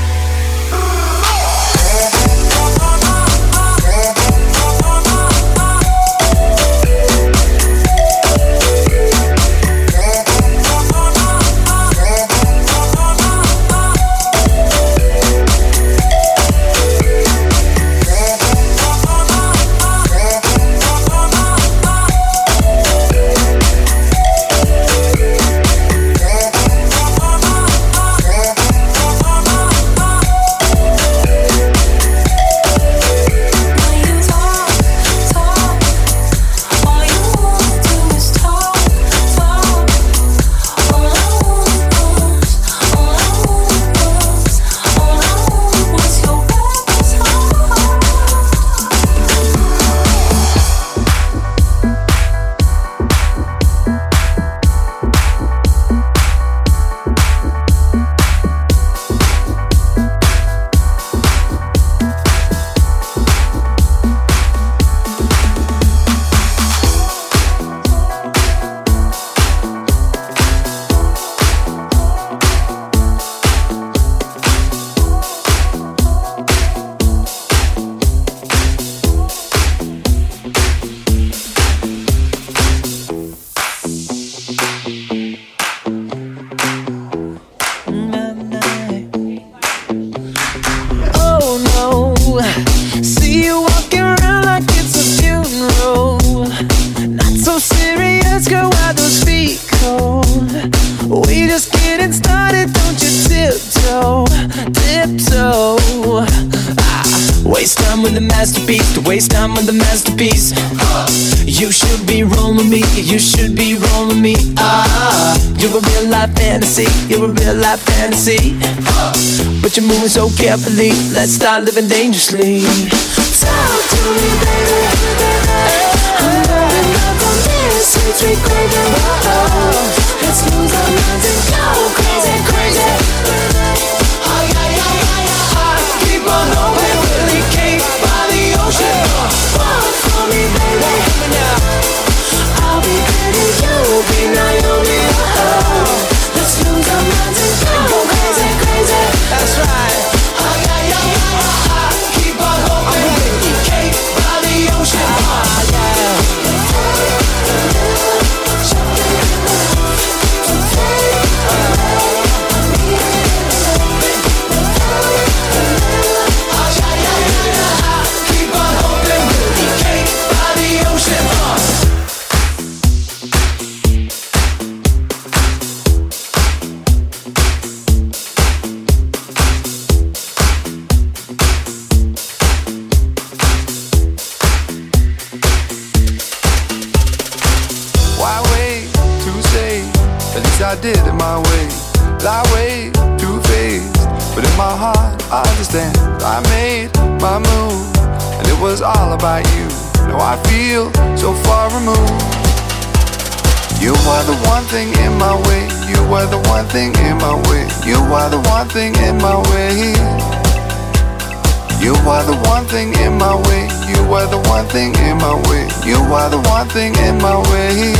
Waste time with the masterpiece, to waste time with the masterpiece. You should be rolling me, you should be rolling me. Ah, you're a real life fantasy, you're a real life fantasy. But you're moving so carefully, let's start living dangerously. Talk to me, baby. I'm burning up on this sweet, sweet craving. Whoa, let's lose our minds and go crazy, crazy. Oh, yeah, yeah, yeah, yeah. Keep on going really
did it my way. That way, two-faced, but in my heart I understand. I made my move, and it was all about you. Now I feel so far removed. You are the one thing in my way. You are the one thing in my way. You are the one thing in my way. You are the one thing in my way. You are the one thing in my way. You are the one thing in my way.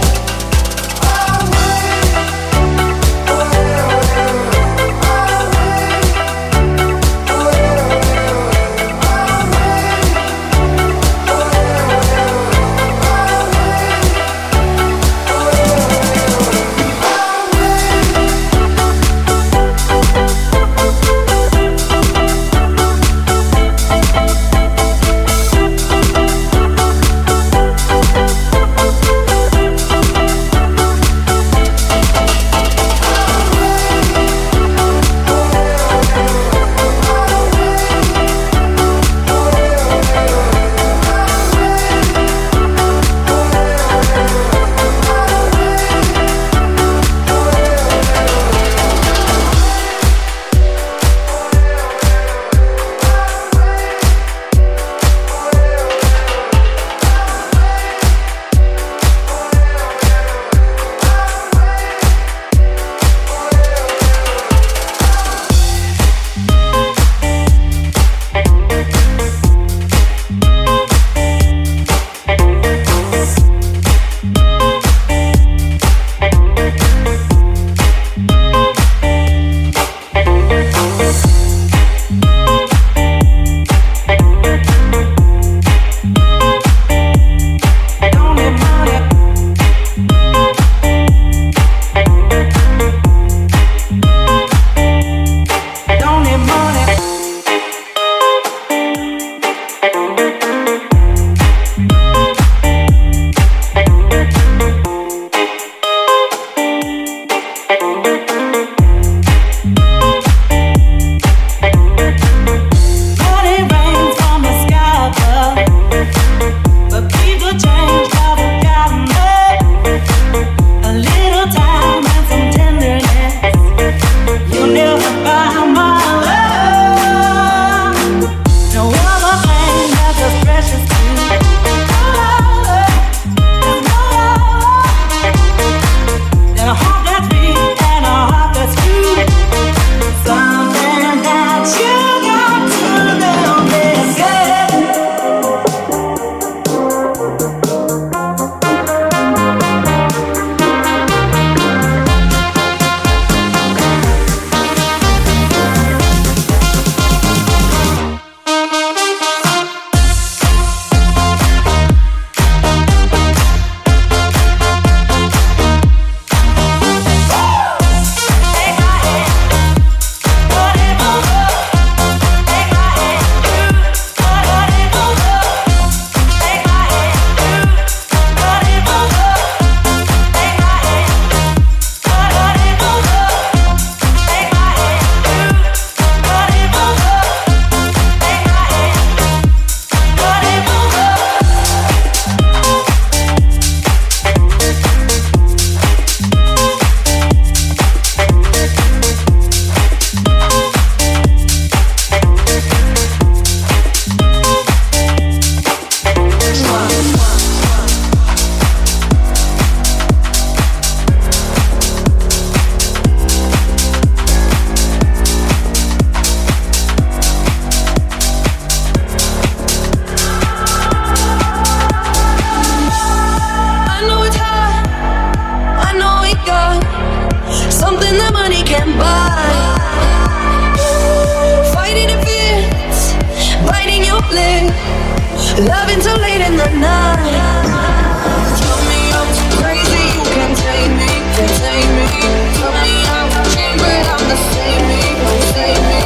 Loving till late in the night. Tell me I'm too crazy, you can't take me, can't take me. Tell me I'm changed, but I'm the same me, the same me.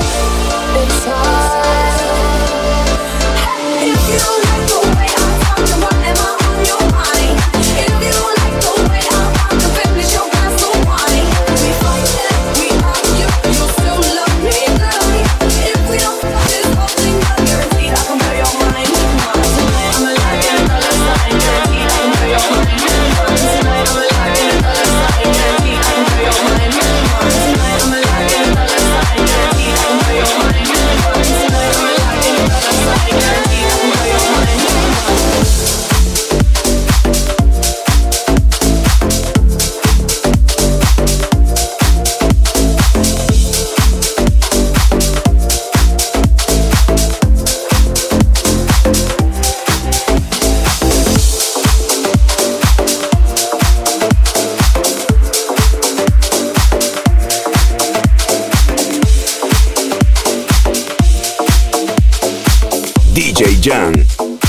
It's hard. If you like the way I talk, then whatever on your mind. If you like the way I rock, then finish your glass of wine. We fight it, we argue, you still love me, love me. If we don't fuck this whole thing, I'm guaranteed I can blow your mind. I'm a liar,
D J Jan.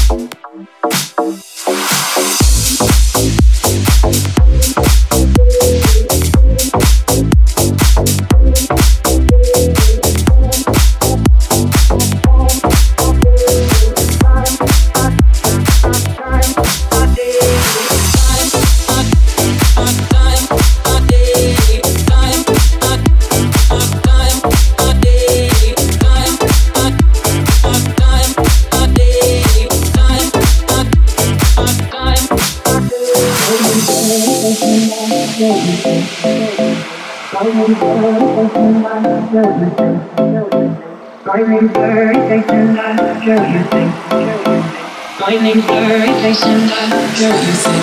My name's Larry Jason, I'm Joe Thing. My name's Larry Jason, I'm Joe Thing.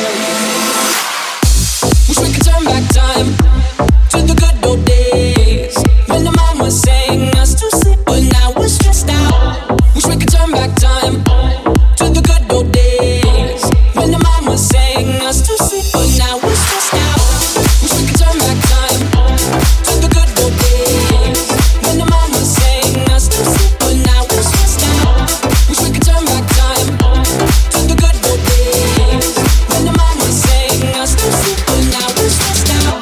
Wish we could turn back time to the good old days when the mama sang us to sleep, but now we're stressed out. Wish we could turn back time to the good old days when the mama sang us to sleep, but now we're stressed out. Wish we could turn back time to the good old days when the mama sang us to sleep, but now we're stressed out. Wish we could turn back time to the good old days when the mama sang us to sleep, but now we're stressed out.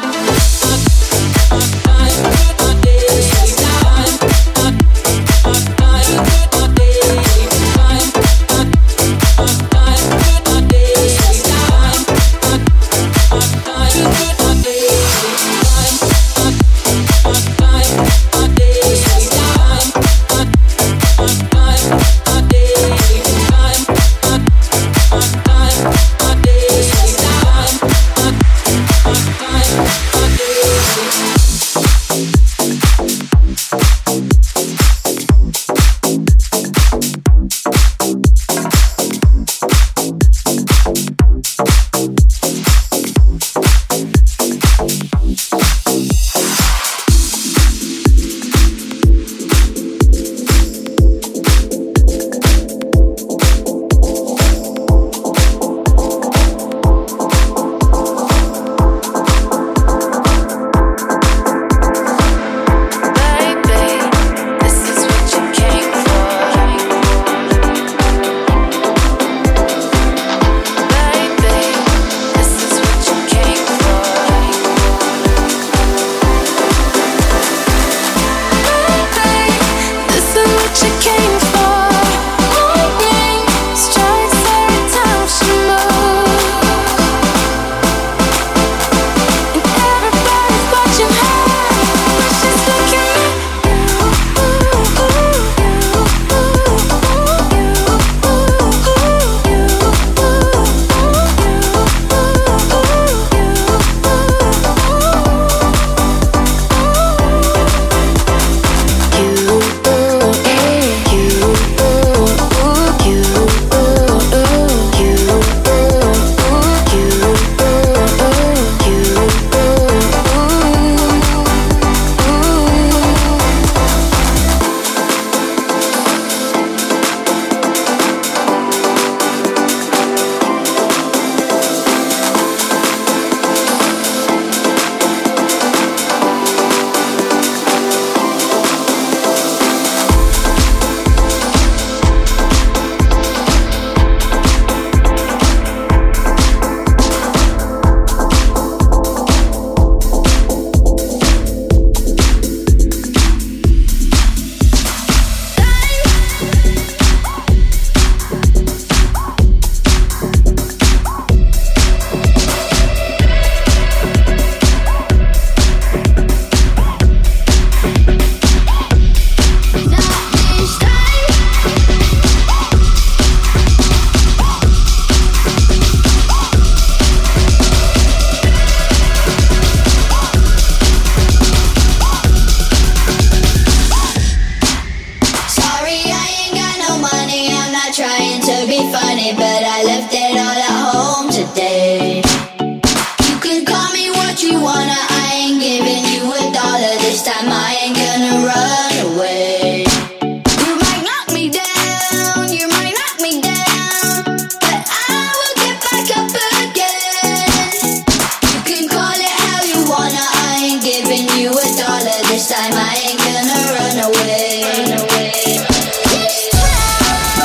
This time I ain't gonna run away. Run away.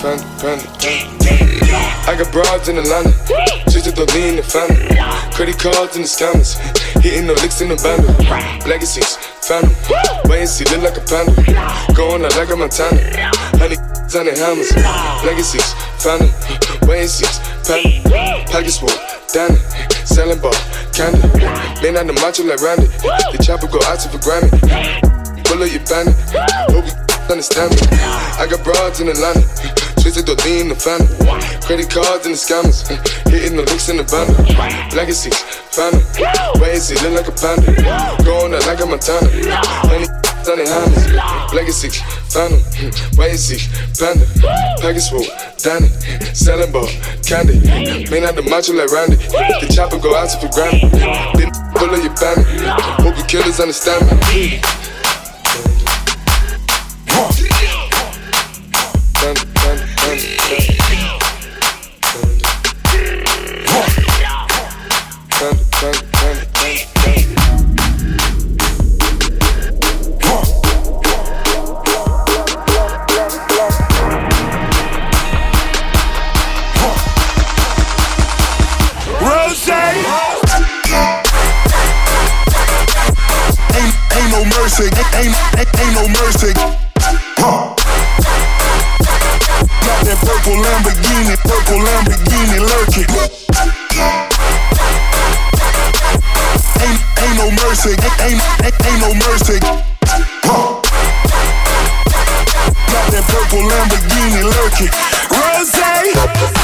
panda, panda, panda. I got broads in Atlanta, just to lean the family. Credit cards in the scammers, hitting the licks in the bundle. Legacies, phantom, wait and see, look like a panda. Going out like a Montana, honey on the hammers. Legacies, phantom, wait and see, panda. Package full, Danny, selling ball, candy. Man on the macho like Randy, the chopper go out to for Grammy. Pull up your bandit, hope you understand me. I got broads in Atlanta, twisted to lean the family. Credit cards and the scammers, hitting the licks in the bundle. Legacies, phantom, wait and see, look like a panda. Going out like a Montana, honey on the hammers. Legacies, phantom, wait and see, panda. Package full, Danny, selling ball, candy. Man out the macho like Randy, the chopper go out to for Grammy. Then pull up your bandit, hope you killers understand me. Panda, panda, panda, panda, panda, panda, panda.
Rose, ain't ain't no mercy, ain't ain't, ain't no mercy. Huh. Got that purple Lamborghini, purple Lamborghini lurking. Ain't ain't no mercy, ain't ain't, ain't no mercy. Huh. Got that purple Lamborghini lurking. Rose.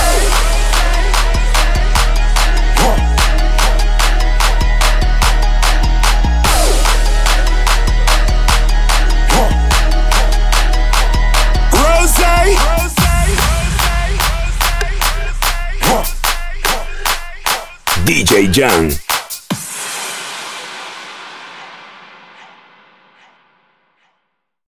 D J Jan.